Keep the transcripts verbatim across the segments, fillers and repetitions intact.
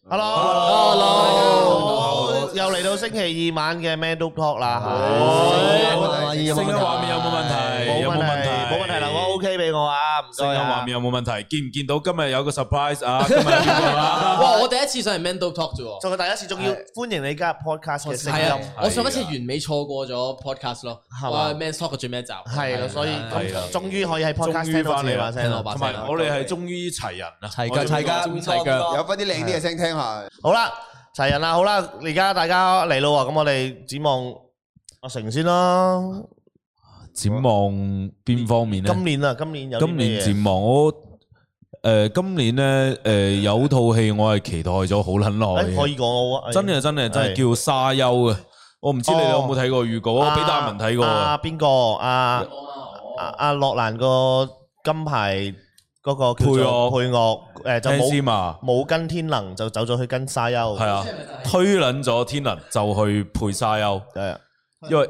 Hello，Hello，又嚟到星期二晚嘅 Man Talk 啦，係。 聲音畫面有冇問題？ 有冇問題？冇問題啦，我 OK 俾我啊，唔該啊。 聲音畫面有冇問題？見唔見到今日有個 surprise 啊？今日見到啦。 哇！我第一次上嚟 Man Talk 啫喎， 就係第一次，仲要歡迎你加入 podcast 嘅聲音。 係啊，我上一次完美錯過咗 podcast 咯， 係嘛 ？Man Talk 嘅最尾一集。 係啦，所以係啦終於可以喺 podcast 聽到自己把聲啦。 同埋我哋係終於齊人啦， 齊腳齊腳齊腳， 有翻啲靚啲嘅聲聽下。 好啦，齊人啦，好啦，而家大家嚟咯喎，咁我哋展望阿成先啦。 展望邊方面咧？ 今年啊，今年有今年展望我誒，今年咧誒有套戲我係期待咗好撚耐嘅， 可以講我啊， 真係真係真係叫沙丘啊！我唔知你哋有冇睇過預告，我俾大文睇過。 阿邊個？阿阿阿諾蘭個金牌嗰個配樂配樂誒就冇冇跟天能就走咗去跟沙丘， 係啊，推撚咗天能就去配沙丘， 係因為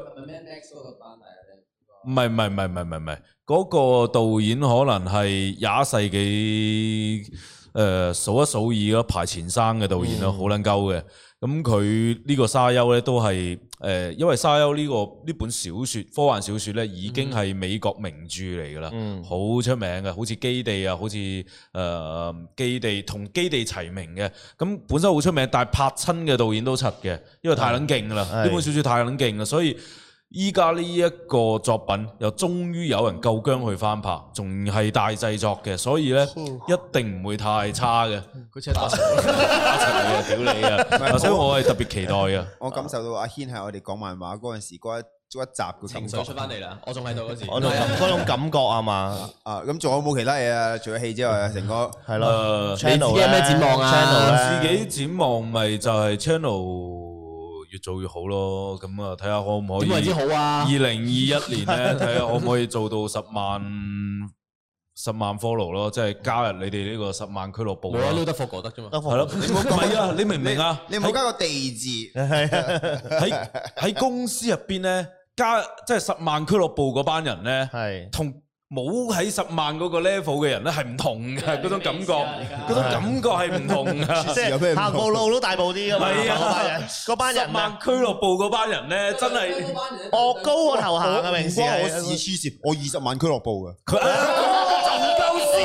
唔係唔係唔係唔係唔係，嗰個導演可能係廿一世紀誒數一數二咯，排前生嘅導演咯，好撚鳩嘅。咁佢呢個沙丘咧都係誒，因為沙丘呢個呢本小説科幻小説咧已經係美國名著嚟㗎啦，好出名嘅，好似基地啊，好似誒基地同基地齊名嘅。咁本身好出名，但係拍親嘅導演都柒嘅，因為太撚勁啦，呢本小説太撚勁啦，所以。依家呢一個作品又終於有人夠薑去翻拍，仲係大製作嘅，所以咧一定唔會太差嘅。 佢車打柒， 打柒你啊！屌你啊！所以我係特別期待嘅。 我感受到阿軒係我哋講漫畫嗰陣時嗰一嗰一集嘅情緒出翻嚟啦，我仲喺度嗰時， 嗰種嗰種感覺啊嘛。 啊，咁仲有冇其他嘢啊？除咗戲之外，成個係咯。 你自己有咩展望啊 ？channel 自己展望咪就係 channel。越做越好咯，咁啊睇下可唔可以？ 點為之好啊？ 二零二一年咧，睇下可唔可以做到十萬十萬 follow 咯，即係加入你哋呢個十萬俱樂部。 冇啊，撈得貨過得啫嘛。 係咯，你唔好講啊！你明唔明啊？ 你唔好加個地字。 喺喺公司入邊咧，加即係十萬俱樂部嗰班人咧， 係同。冇喺十萬嗰個 level 嘅人咧係唔同嘅，嗰種感覺，嗰種感覺係唔同嘅， 即係行步路都大步啲㗎嘛。 係啊， 嗰班人， 十萬俱樂部嗰班人咧，真係我高我頭行嘅平時， 我事黐線，我二十萬俱樂部嘅， 佢就唔夠事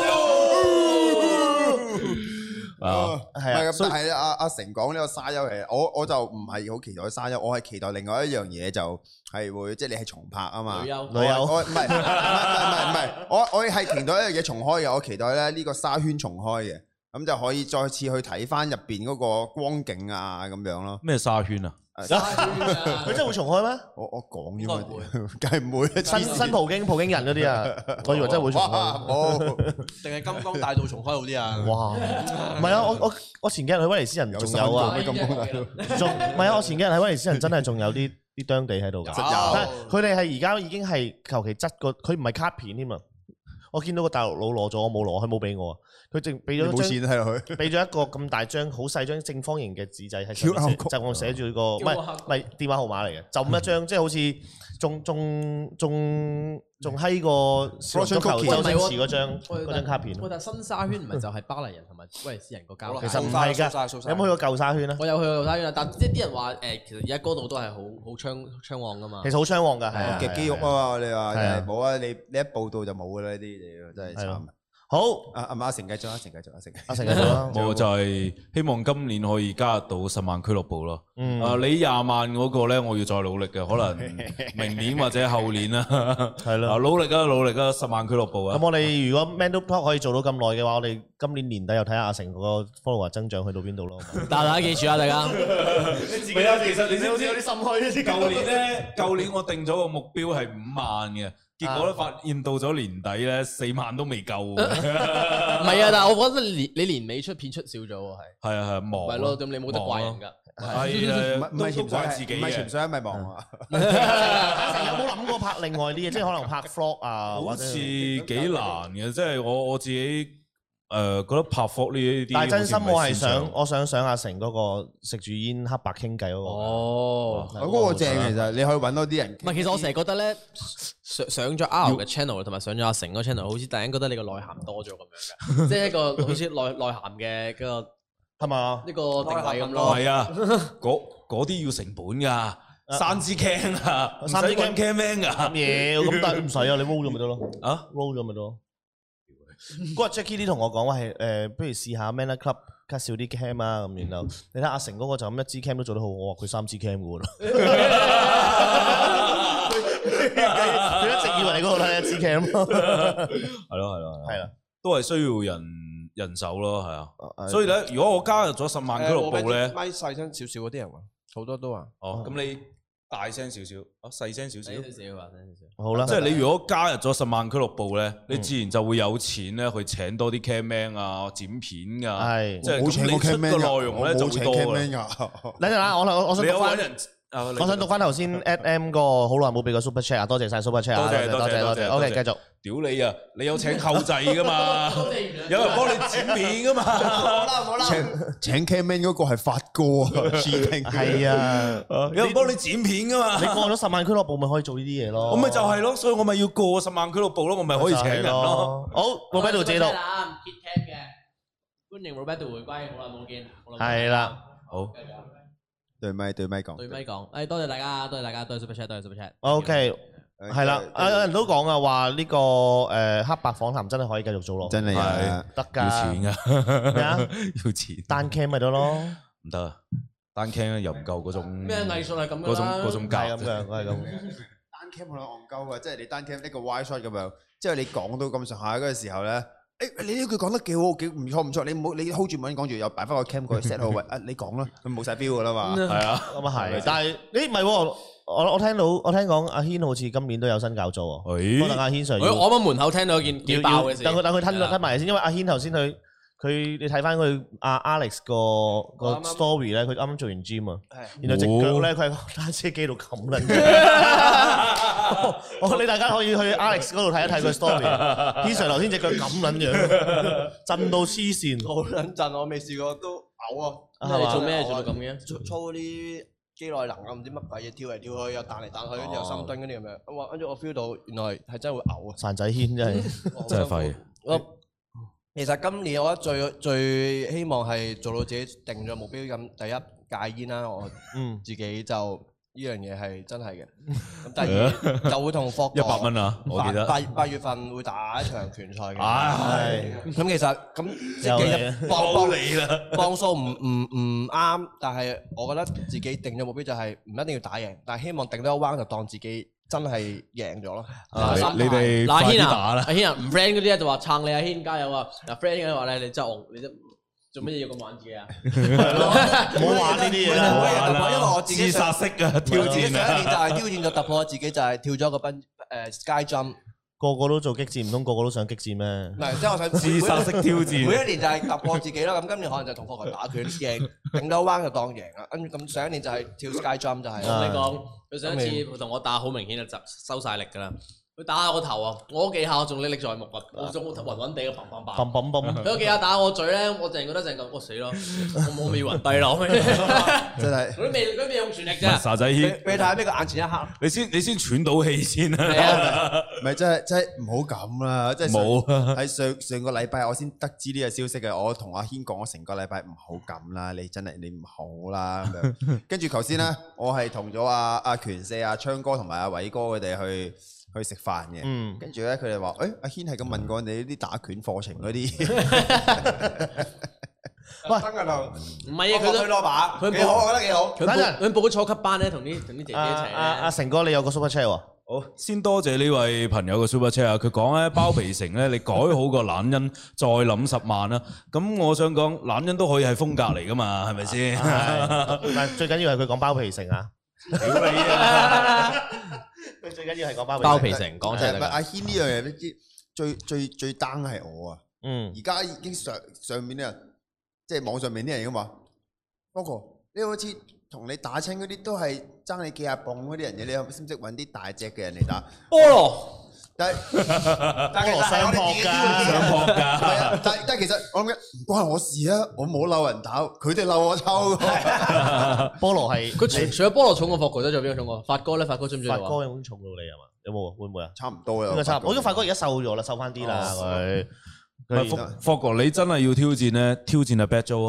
啊！ 係啊，但係阿阿成講呢個沙丘嘅，我我就唔係好期待沙丘，我係期待另外一樣嘢就。係會即係你係重拍啊嘛， 女優女優， 我唔係唔係唔係唔係，我我係期待一樣嘢重開嘅，我期待咧呢個沙圈重開嘅，咁就可以再次去睇翻入邊嗰個光景啊咁樣咯。 咩沙圈啊？ 佢真係會重開咩？ 我我講啫嘛，梗係唔會。 新新葡京葡京人嗰啲啊，我以為真係會重開。 哦， 定係金剛大道重開好啲啊？ 哇！唔係啊，我我我前幾日去威尼斯人仲有啊， 金剛大道仲唔係啊？我前幾日喺威尼斯人真係仲有啲。啲當地喺度㗎，但係佢哋係而家已經係求其執個，佢唔係卡片添啊！我見到個大陸佬攞咗，我冇攞，佢冇俾我啊！佢淨俾咗張， 冇錢睇落去， 俾咗一個咁大張好細張正方形嘅紙仔喺上面，就我寫住個唔係唔係電話號碼嚟嘅，就咁一張，即係好似仲仲仲仲閪過足球周星馳嗰張嗰張卡片。 喂，但新沙圈唔係就係巴黎人同埋威尼斯人個交流？ 其實唔係㗎，有冇去過舊沙圈啊？ 我有去過舊沙圈啊，但即係啲人話誒，其實而家嗰度都係好好暢暢旺㗎嘛。 其實好暢旺㗎，係啊， 極肌肉啊嘛！你話冇啊？你你一報道就冇㗎啦！呢啲嘢真係慘。 好， 阿阿阿成繼續，阿成繼續，阿成， 阿成繼續啦。 我就係希望今年可以加入到十萬俱樂部咯。 嗯， 啊，你廿萬嗰個咧，我要再努力嘅，可能明年或者後年啦。 係咯， 努力啊，努力啊，十萬俱樂部啊。 咁我哋如果 Man Talk 可以做到咁耐嘅話，我哋今年年底又睇下阿成嗰個 follower 增長去到邊度咯。 大家記住啊，大家。 唔係啊，其實你知好似有啲心虛。舊年咧，舊年我定咗個目標係五萬嘅。結果咧發現到咗年底咧，四萬都未夠。唔係啊，但係我覺得年你年尾出片出少咗喎，係。 係啊係忙。 係咯，咁你冇得怪人㗎。 係啊， 唔係潛怪自己唔係潛水，咪忙啊！ 阿成有冇諗過拍另外啲嘢，即係可能拍 vlog 啊？ 好似幾難嘅，即係我我自己誒覺得拍 vlog 呢啲。 但係真心我係想，我想上阿成嗰個食住煙黑白傾偈嗰個。 哦， 嗰個正其實，你可以揾多啲人。 唔係，其實我成日覺得咧，上上咗 R 嘅 channel 同埋上咗阿成嗰個 channel，好似突然間覺得你個內涵多咗咁樣嘅，即係一個好似內內涵嘅嗰個係嘛？ 呢個定位咁唔咯。 係啊，嗰嗰啲要成本㗎。三支 cam 啊，唔使三支揾 cam man 㗎。 嘢咁但係唔使啊，你 roll 咗咪得咯？ 啊 roll 咗咪得咯？嗰日 Jackie 啲同我講話係誒，不如試下 Manner Club cut 少啲 cam 啊咁，然後你睇阿成嗰個就咁一支 cam 都做得好，我話佢三支 cam 㗎喎。佢一直以為你嗰度睇一支 cam 咯。 係咯係咯係啦， 都係需要人人手咯，係啊。所以咧，如果我加入咗十萬俱樂部咧， 咪細聲少少嗰啲人話，好多都話。 哦，咁你大聲少少，啊細聲少少。 少少啊，少少。 好啦， 即係你如果加入咗十萬俱樂部咧，你自然就會有錢咧去請多啲 cam man 啊、剪片㗎。 係， 即係咁你出嘅內容咧就會多㗎。 等陣啦，我我我想讀翻。 人。 我想讀翻頭先 at M 個好耐冇俾過 super chat 啊，多謝晒 super chat 啊， 多謝多謝多謝。OK，繼續。 屌你啊！你有請後製㗎嘛？有人幫你剪片㗎嘛？ 好啦好啦， 請 cam man 嗰個係發哥啊， 係啊， 有人幫你剪片㗎嘛？ 你過咗十萬俱樂部咪可以做呢啲嘢咯。 我咪就係咯，所以我咪要過十萬俱樂部咯，我咪可以請人咯。 好，我喺度借到。 唔 keep cam 嘅，歡迎 Roberto 回歸，好耐冇見。 係啦， 好。 對咪對咪講， 對咪講，誒多謝大家，多謝大家，多謝 super chat，多謝 super chat。 OK，係啦，有人都講啊，話呢個誒黑白訪談真係可以繼續做咯， 真係啊， 得㗎， 要錢㗎， 咩啊？ 要錢。 單 cam 咪得咯， 唔得啊，單 cam 又唔夠嗰種咩藝術係咁嗰種嗰種係格咁樣，係咁。 單 cam 好撚戇鳩啊！即係你單 cam 一個 wide shot 咁樣，即係你講到咁上下嗰個時候咧。誒，你呢句講得幾好，幾唔錯唔錯，你唔好你 hold 住冇講住，又擺翻個 cam 過去 set 好位，啊你講啦，佢冇晒 feel 噶啦嘛， 係啊， 咁啊係，但係你唔係喎，我我聽到我聽講阿軒好似今年都有新搞作喎，可能阿軒 Sir 要我我喺門口聽到一件幾爆嘅事， 等佢等佢吞吞埋先，因為阿軒頭先佢佢你睇翻佢阿 Alex 個個 story 咧，佢啱啱做完 gym 啊，然後隻腳咧佢喺個單車機度冚撚。我你大家可以去 Alex 嗰度睇一睇佢 story。軒 Sir 頭先隻腳咁撚樣，震到黐線， 好撚震，我未試過都嘔啊！ 你做咩做到咁嘅？ 操操啲肌內能啊，唔知乜鬼嘢，跳嚟跳去又彈嚟彈去，跟住又深蹲嗰啲咁樣。咁跟住我 feel 到原來係真係會嘔啊！ 散仔軒真係真係廢。 我其實今年我覺得最最希望係做到自己定咗目標咁，第一戒煙啦，我自己就。呢樣嘢係真係嘅，咁第二就會同霍哥一百蚊啊！我記得八八月份會打一場拳賽嘅。 唉， 咁其實咁即係幫幫你啦，幫數唔唔唔啱，但係我覺得自己定咗目標就係唔一定要打贏，但係希望定多一彎就當自己真係贏咗咯。 你哋嗱，阿軒啊， 快啲打啦！ 阿軒啊，唔 friend 嗰啲咧就話撐你，阿軒加油啊！嗱 friend 嘅話咧，你真係你真。做乜嘢要咁玩自己啊？ 唔好玩呢啲嘢啦， 因為我自己自殺式啊挑戰啊！ 上一年就係挑戰咗突破自己，就係跳咗個奔誒 sky jump。 個個都做激戰，唔通個個都想激戰咩？ 唔係，即係我想自殺式挑戰。 每一年就係突破自己啦。咁今年可能就同霍哥打拳贏，頂多彎就當贏啦。跟住咁上一年就係跳 sky jump 就係。 我同你講，佢上一次同我打好明顯就收晒力㗎啦。佢打下我頭啊！我嗰幾下我仲歷歷在目啊！我仲暈暈地嘅砰砰砰。 砰砰砰！ 佢嗰幾下打我嘴咧，我淨係覺得淨係咁，我死咯！我我未暈低咯， 真係。 佢都未佢都未用全力啫。 沙仔軒， 俾你睇下邊個眼前一刻。 你先你先喘到氣先啊！ 係啊， 唔係真係真係唔好咁啦！即係冇喺上上個禮拜我先得知呢個消息嘅，我同阿軒講我成個禮拜唔好咁啦，你真係你唔好啦咁樣。跟住頭先咧，我係同咗阿阿權四、阿昌哥同埋阿偉哥佢哋去。去食飯嘅，嗯、跟住咧佢哋話：，誒、欸、阿軒係咁問過你啲打拳課程嗰啲， 喂，真㗎就唔係啊，佢都推攞把， 佢幾好，我覺得幾好。 佢報佢報咗初級班咧，同啲同啲姐姐一齊咧。 阿阿成哥，你有個 super chat 喎。 好，先多謝呢位朋友嘅 super chat 啊！佢講咧包皮城咧，你改好個懶音，再諗十萬啦。咁我想講懶音都可以係風格嚟噶嘛，係咪先？ 但最緊要係佢講包皮城啊！屌你啊！佢最緊要係講包皮包皮城講出嚟。 唔係阿軒呢樣嘢，你知最最最 down 係我啊！ 嗯， 而家已經上上面啲人，即係網上面啲人咁話，不過你好似同你打親嗰啲都係爭你幾廿磅嗰啲人嘅，你識唔識揾啲大隻嘅人嚟打？ 菠蘿， 但係但係其實係我哋自己上撲㗎， 係啊！但但係其實我諗緊唔關我事啊！我冇嬲人打，佢哋嬲我抽。 菠蘿係佢除除咗菠蘿重過霍哥，都仲有邊個重過？發哥咧，發哥中唔中意？ 發哥有冇重到你係嘛？有冇啊？會唔會啊？ 差唔多啦， 應該差唔多。我覺得發哥而家瘦咗啦，瘦翻啲啦佢。 霍霍哥，你真係要挑戰咧，挑戰阿 Bad Joe 啊！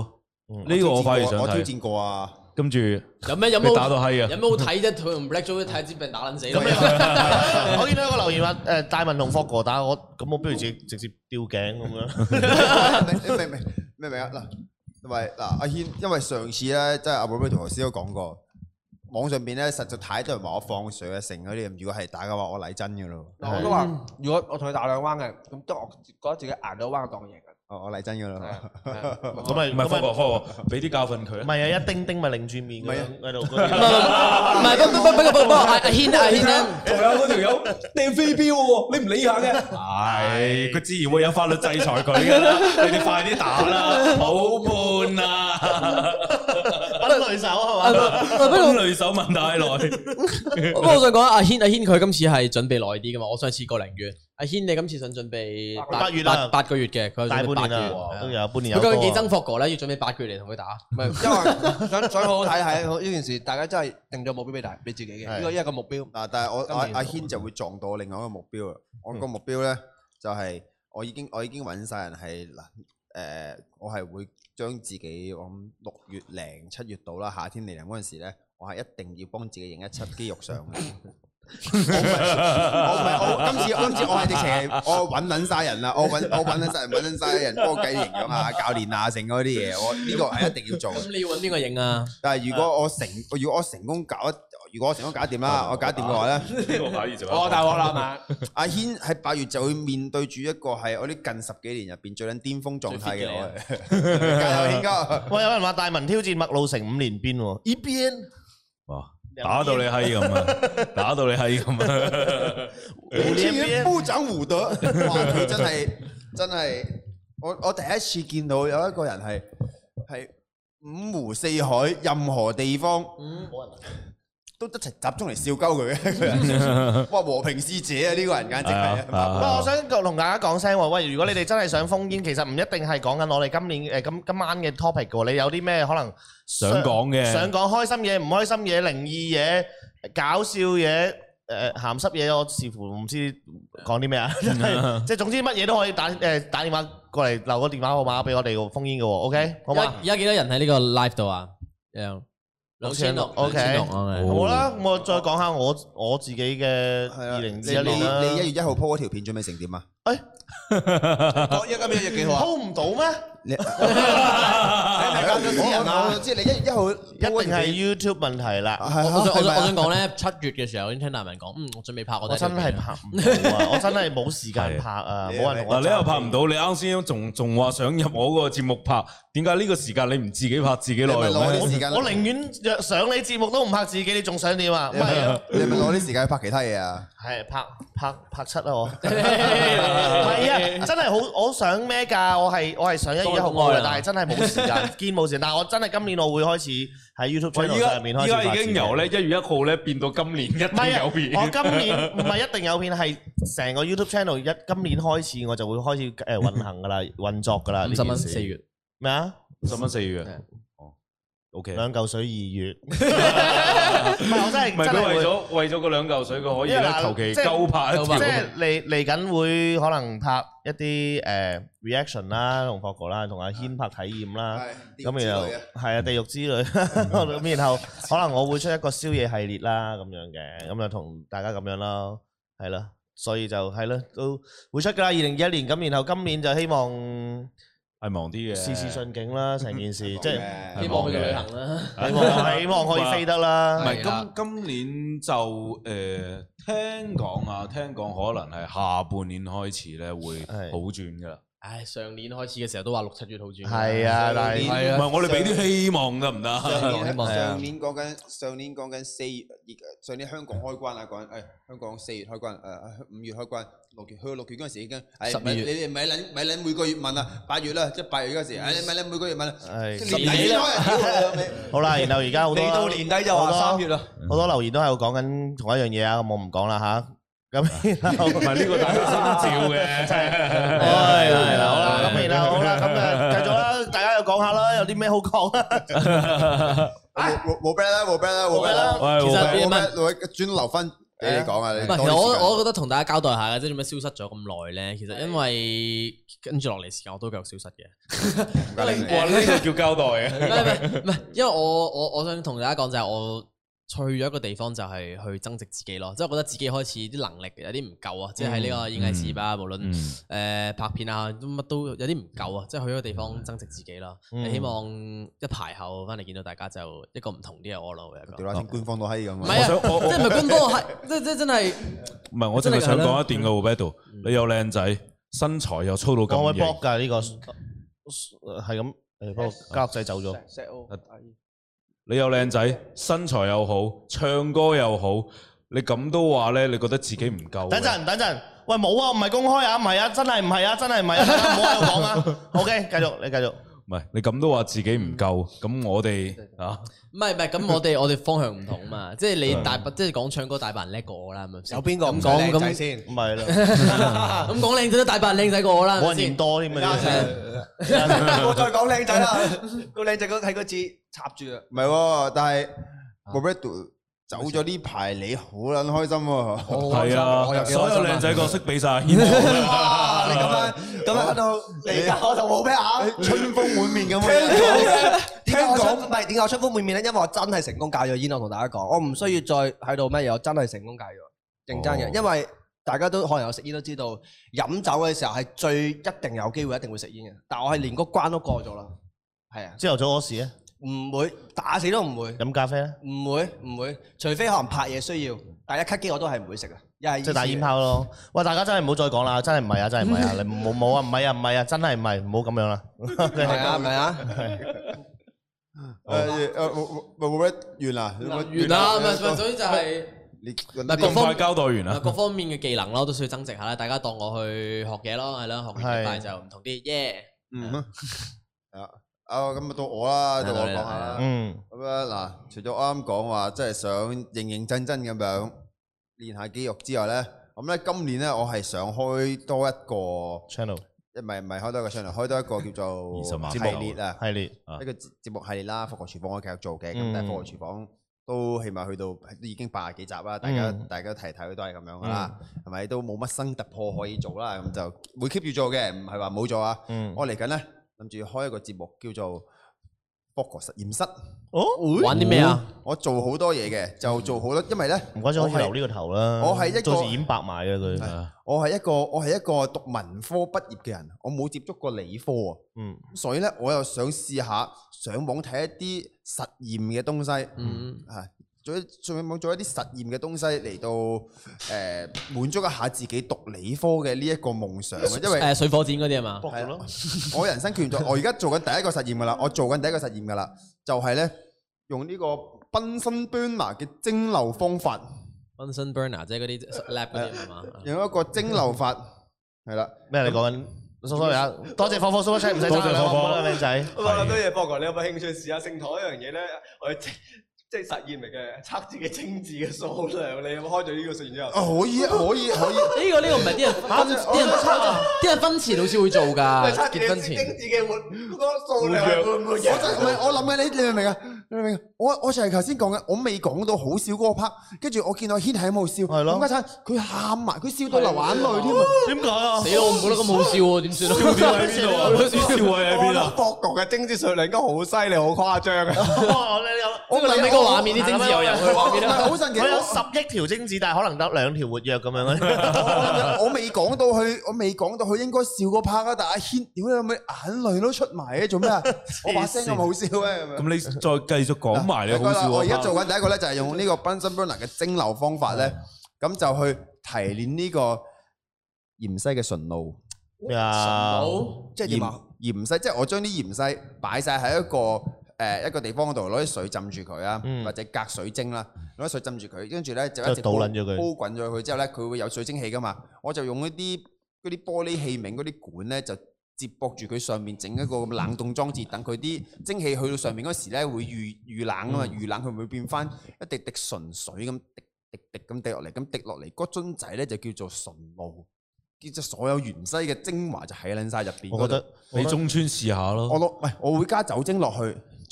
呢個我反而想睇。 我挑戰過啊。 跟住有咩有冇打到閪啊？ 有咩好睇啫？佢同 Black Joe 睇支病打撚死。咁我見到一個留言話誒大文同霍哥打我，咁我不如自己直接吊頸咁樣。 你明唔明？明唔明啊？嗱，因為嗱阿軒，因為上次咧，即係阿寶寶同頭先都講過，網上邊咧實在太多人話我放水啊成嗰啲，如果係打嘅話，我嚟真嘅咯。 我都話，如果我同佢打兩彎嘅，咁即係我覺得自己捱到彎當贏嘅。 哦，我嚟真嘅啦。 咁咪唔係科學科學，俾啲教訓佢。 唔係啊，一丁丁咪擰住面咁樣喺度。 唔係唔係，不不不不不，阿軒阿軒咧， 仲有嗰條友掟飛鏢喎，你唔理下嘅？係，佢自然會有法律制裁佢㗎啦。你哋快啲打啦，好悶啊！ 揾雷手係嘛？ 揾雷手問太耐。 不過我想講阿軒阿軒佢今次係準備耐啲㗎嘛，我上次個零月，阿軒你今次想準備八月啦， 八個月嘅，佢大半年啦，都有半年有多。 佢究竟幾憎霍哥咧？要準備八個月嚟同佢打？ 唔係，因為想想好好睇睇呢件事，大家真係定咗目標俾大俾自己嘅，呢個一個目標。 嗱，但係我阿阿軒就會撞到另外一個目標啊！我個目標咧就係我已經我已經揾晒人係嗱誒，我係會將自己我諗六月零七月度啦，夏天嚟臨嗰陣時咧，我係一定要幫自己影一輯肌肉相嘅。我唔係我唔係我今次今次我係直情係我揾撚晒人啦，我揾我揾撚晒人揾撚晒人幫我計營養啊、教練啊、成嗰啲嘢，我呢個係一定要做。 咁你要揾邊個影啊？ 但係如果我成如果我成功搞，如果我成功搞掂啦，我搞掂嘅話咧， 呢個反而就我大鑊啦嘛！ 阿軒喺八月就會面對住一個係我啲近十幾年入邊最撚巔峰狀態嘅我。加油，軒哥！ 喂，有人話大文挑戰麥路成五連鞭喎，呢邊哇！打到你閪咁啊！打到你閪咁啊！ 五年不長武德，哇！佢真係真係，我我第一次見到有一個人係係五湖四海任何地方，嗯，都一齊集中嚟笑鳩佢嘅一個人。哇！和平使者啊，呢個人簡直係。不過我想同大家講聲喎，喂，如果你哋真係想封煙，其實唔一定係講緊我哋今年誒今今晚嘅 topic 嘅喎，你有啲咩可能？ 想講嘅， 想講開心嘢、唔開心嘢、靈異嘢、搞笑嘢、誒鹹濕嘢，我視乎唔知講啲咩啊！即係總之乜嘢都可以打誒打電話過嚟留個電話號碼俾我哋封煙嘅喎 ，OK 好嘛？ 而家幾多人喺呢個 live 度啊？兩千六 ，OK 好啦，咁我再講下我我自己嘅二零二一年啦。 你一月一號 po 嗰條片準備成點啊？ 誒， 講一今日日幾號啊 ？po 唔到咩？ 你我我知你一月一號一定係 YouTube 問題啦。 我我想我想講咧，七月嘅時候已經聽大文講，嗯，我準備拍我。 我真係拍唔到啊！我真係冇時間拍啊！冇人同我。 嗱，你又拍唔到，你啱先仲仲話想入我個節目拍，點解呢個時間你唔自己拍自己內容咧？ 我寧願上你節目都唔拍自己，你仲想點啊？唔係啊！ 你咪攞啲時間去拍其他嘢啊？ 係拍拍拍七啊！我係啊！真係好，我想咩㗎？我係我係想一月一號嘅，但係真係冇時間，堅冇時間。但係我真係今年我會開始喺 YouTube channel 上面開始。 依家已經由咧一月一號咧變到今年一定有片。 我今年唔係一定有片，係成個 YouTube channel 一今年開始我就會開始誒運行㗎啦，運作㗎啦。 五十蚊四月咩啊？ 五十蚊四月。O K， 兩嚿水二月，唔係我真係唔係佢為咗為咗嗰兩嚿水，佢可以咧求其鳩拍一條。 即係嚟嚟緊會可能拍一啲誒 reaction 啦，同霍哥啦，同阿軒拍體驗啦。咁然後係啊，地獄之類。咁然後可能我會出一個宵夜系列啦，咁樣嘅，咁就同大家咁樣咯，係咯。所以就係咯，都會出㗎啦。二零二一年咁，然後今年就希望。 係忙啲嘅， 事事順境啦，成件事即係希望去旅行啦， 希望希望可以飛得啦。 唔係今今年就誒聽講啊，聽講可能係下半年開始咧會好轉噶啦。 唉，上年開始嘅時候都話六七月好轉。 係啊，但係唔係我哋俾啲希望得唔得？ 上年講緊上年講緊四月，上年香港開關啊，講緊誒香港四月開關，誒五月開關。六月去到六月嗰陣時已經，誒你哋咪撚咪撚每個月問啊，八月啦，即係八月嗰陣時，誒你咪撚每個月問，年底啦， 好啦，然後而家好多嚟到年底就話三月啦， 好多留言都喺度講緊同一樣嘢啊，咁我唔講啦嚇，咁唔係呢個大家心照嘅，真係， 係啦係啦，好啦，咁然後好啦，咁誒繼續啦，大家又講下啦，有啲咩好講啊？ 冇冇 bad 啦，冇 bad 啦，冇 bad 啦， 其實冇 bad，轉留翻。 俾你講啊！唔係，其實我我覺得同大家交代下嘅，即係做咩消失咗咁耐咧？其實因為跟住落嚟時間我都繼續消失嘅。 哇！呢個叫交代嘅。 唔係唔係唔係，因為我我我想同大家講就係我。去咗一個地方就係去增值自己咯，即係我覺得自己開始啲能力有啲唔夠啊，即係喺呢個演藝事業啊，無論誒拍片啊，乜都有啲唔夠啊，即係去咗個地方增值自己咯。希望一排後翻嚟見到大家就一個唔同啲嘅我咯。 屌啦，官方都閪咁啊！ 唔係啊，即係唔係官方係，即即真係唔係我真係想講一段嘅 Roberto，你又靚仔，身材又粗到咁型。 我會 block 㗎呢個係咁誒，不過家樂仔走咗。 你又靚仔，身材又好，唱歌又好，你咁都話咧？你覺得自己唔夠？ 等陣，等陣，喂冇啊，唔係公開啊，唔係啊，真係唔係啊，真係唔係啊，唔好喺度講啊。OK，繼續，你繼續。 唔係你咁都話自己唔夠，咁我哋啊， 唔係唔係，咁我哋我哋方向唔同嘛，即係你大即係講唱歌大把人叻過我啦，係咪先？ 有邊個咁講靚仔先？ 唔係啦， 咁講靚仔都大把人靚仔過我啦， 冇人嫌多添啊！ 我再講靚仔啦，個靚仔嗰睇個字插住啊！ 唔係喎，但係 Roberto 走咗呢排，你好撚開心喎！ 係啊，所有靚仔角色俾晒。 你咁樣咁樣喺度嚟㗎，我就冇咩啊！ 春風滿面咁樣。 聽講唔係點解我春風滿面咧？因為我真係成功戒咗煙，我同大家講，我唔需要再喺度乜嘢，我真係成功戒咗，認真嘅。因為大家都可能有食煙都知道，飲酒嘅時候係最一定有機會一定會食煙嘅。但係我係連嗰關都過咗啦。係啊， 朝頭早嗰時咧， 唔會打死都唔會。 飲咖啡咧？ 唔會唔會，除非可能拍嘢需要，但係一咳機我都係唔會食嘅。 即係打煙炮咯！喂，大家真係唔好再講啦，真係唔係啊，真係唔係啊，你冇冇啊，唔係啊，唔係啊，真係唔係，唔好咁樣啦。 係啊，係咪啊？ 誒誒，冇冇咩完啦？ 完啦，咪咪所以就係你嗱各方交代完啦， 各方面嘅技能咯，都需要增值下啦。大家當我去學嘢咯，係咯，學嘢快就唔同啲，耶！ 嗯，係啊，啊咁啊到我啦，到我講下啦。嗯，咁樣嗱，除咗啱啱講話，即係想認認真真咁樣練下肌肉之外咧，咁咧今年咧我係想開多一個 channel，唔係唔係開多一個 channel，開多一個叫做系列啊，系列一個節目系列啦。復國廚房我繼續做嘅，咁但係復國廚房都起碼去到都已經八十幾集啦，大家大家睇睇都係咁樣噶啦，係咪都冇乜新突破可以做啦？咁就會 keep 住做嘅，唔係話冇做啊。我嚟緊咧諗住開一個節目叫做復國實驗室。 哦，玩啲咩啊？ 我做好多嘢嘅，就做好多，因為咧， 唔該，可以留呢個頭啦。 我係一個到時演白埋嘅佢。 我係一個我係一個讀文科畢業嘅人，我冇接觸過理科啊。嗯，所以咧，我又想試下上網睇一啲實驗嘅東西。嗯，係做上網做一啲實驗嘅東西嚟到誒滿足一下自己讀理科嘅呢一個夢想。因為誒水火箭嗰啲係嘛？ 係咯，我人生決定咗，我而家做緊第一個實驗噶啦，我做緊第一個實驗噶啦，就係咧。用呢個 Bunsen burner 嘅蒸餾方法 ，Bunsen burner 即係嗰啲 lab 嗰啲係嘛？ 用一個蒸餾法係啦， 咩你講緊？sorry 啊，多謝火火 super chat，唔使爭啦，火火靚仔。 我諗多謝博哥，你有冇興趣試下聖堂一樣嘢咧？我哋即係實驗嚟嘅，測自己精子嘅數量。你有冇開咗呢個實驗之後？ 啊，可以，可以，可以。 呢個呢個唔係啲人分，啲人測，啲人婚前好似會做㗎。 結婚前精子嘅活嗰個數量會唔會？ 我就唔係，我諗緊你，你明唔明啊？你明唔明？我我就係頭先講嘅，我未講到好笑嗰個 part，跟住我見到軒喺度笑，係咯。點解佢喊埋，佢笑到流眼淚添啊？點解啊？ 死咯！我唔覺得咁好笑喎，點算啊？ 笑點喺邊度啊？笑位喺邊啊？ 博國嘅精子數量應該好犀利，好誇張啊！ 我諗起個畫面，啲精子又入去畫面啦。 好神奇！ 我有十億條精子，但係可能得兩條活躍咁樣。 我未講到佢，我未講到佢應該笑嗰 part 啊！但係阿軒，屌你有冇眼淚都出埋嘅？做咩啊？我把聲咁好笑咧？ 咁你再繼續講埋你好笑。 我而家做緊第一個咧，就係用呢個 Bunsen burner 嘅蒸餾方法咧，咁就去提煉呢個芫荽嘅純露。 咩啊？ 即係點啊？ 芫荽，即係我將啲芫荽擺晒喺一個誒一個地方嗰度，攞啲水浸住佢啊，或者隔水蒸啦，攞啲水浸住佢，跟住咧就一直煲煲滾咗佢之後咧，佢會有水蒸氣噶嘛。我就用一啲嗰啲玻璃器皿嗰啲管咧，就接駁住佢上面整一個冷凍裝置，等佢啲蒸氣去到上面嗰時咧會預預冷啊嘛，預冷佢會變翻一滴滴純水咁滴滴滴咁滴落嚟，咁滴落嚟嗰樽仔咧就叫做純露，叫做所有芫荽嘅精華就喺撚晒入邊。 我覺得你中村試下咯。 我落喂，我會加酒精落去。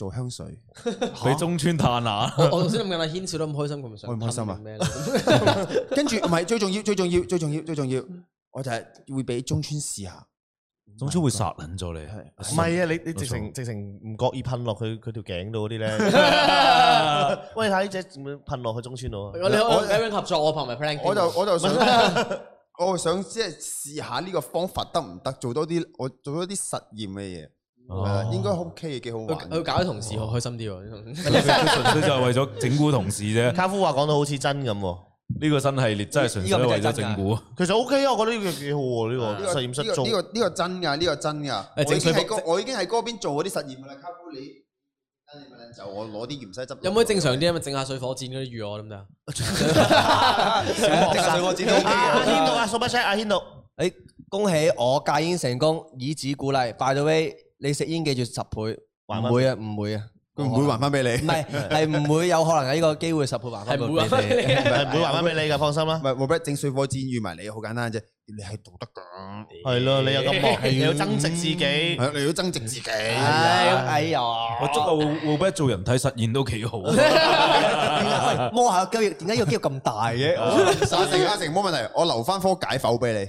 做香水， 俾中村嘆下。 我我頭先諗緊阿軒笑得咁開心，佢咪想我唔開心啊咩？ 跟住唔係最重要，最重要，最重要，最重要，我就係會俾中村試下。 中村會殺撚咗你， 唔係啊！你你直情直情唔覺意噴落佢佢條頸度嗰啲咧。喂，睇呢隻點樣噴落去中村度啊？ 你我兩樣合作，我拍埋 plan。 我就我就想，我想即係試下呢個方法得唔得？做多啲我做多啲實驗嘅嘢，係啦，應該 OK 嘅，幾好玩。 佢搞啲同事好開心啲喎。 純粹就係為咗整蠱同事啫。 卡夫話講到好似真咁喎。 呢個新系列真係純粹為咗整蠱。 其實 OK 啊，我覺得呢個幾好喎，呢個實驗室做。 呢個呢個真㗎，呢個真㗎。我已經喺嗰我已經喺嗰邊做嗰啲實驗㗎啦。卡夫你，你咪就我攞啲芫茜汁。 有冇正常啲啊？咪整下水火箭嗰啲魚我得唔得？ 整下水火箭都 OK 嘅。 阿軒度啊，super chat，阿軒度。 誒，恭喜我戒煙成功，以子鼓勵。By the way，你食煙記住十倍，唔會啊，唔會啊。 佢唔會還翻俾你， 唔係係唔會有可能喺呢個機會十倍還翻俾你， 係唔會還翻俾你噶，放心啦。 唔係冇乜整水火箭預埋你，好簡單啫。你係道德㗎， 係咯，你有咁惡，你要增值自己， 係你要增值自己。 哎呀， 我捉阿 Will 做人體實驗都幾好。 摸下個肌肉，點解呢個肌肉咁大嘅？ 阿成阿成冇問題，我留翻科解剖俾你。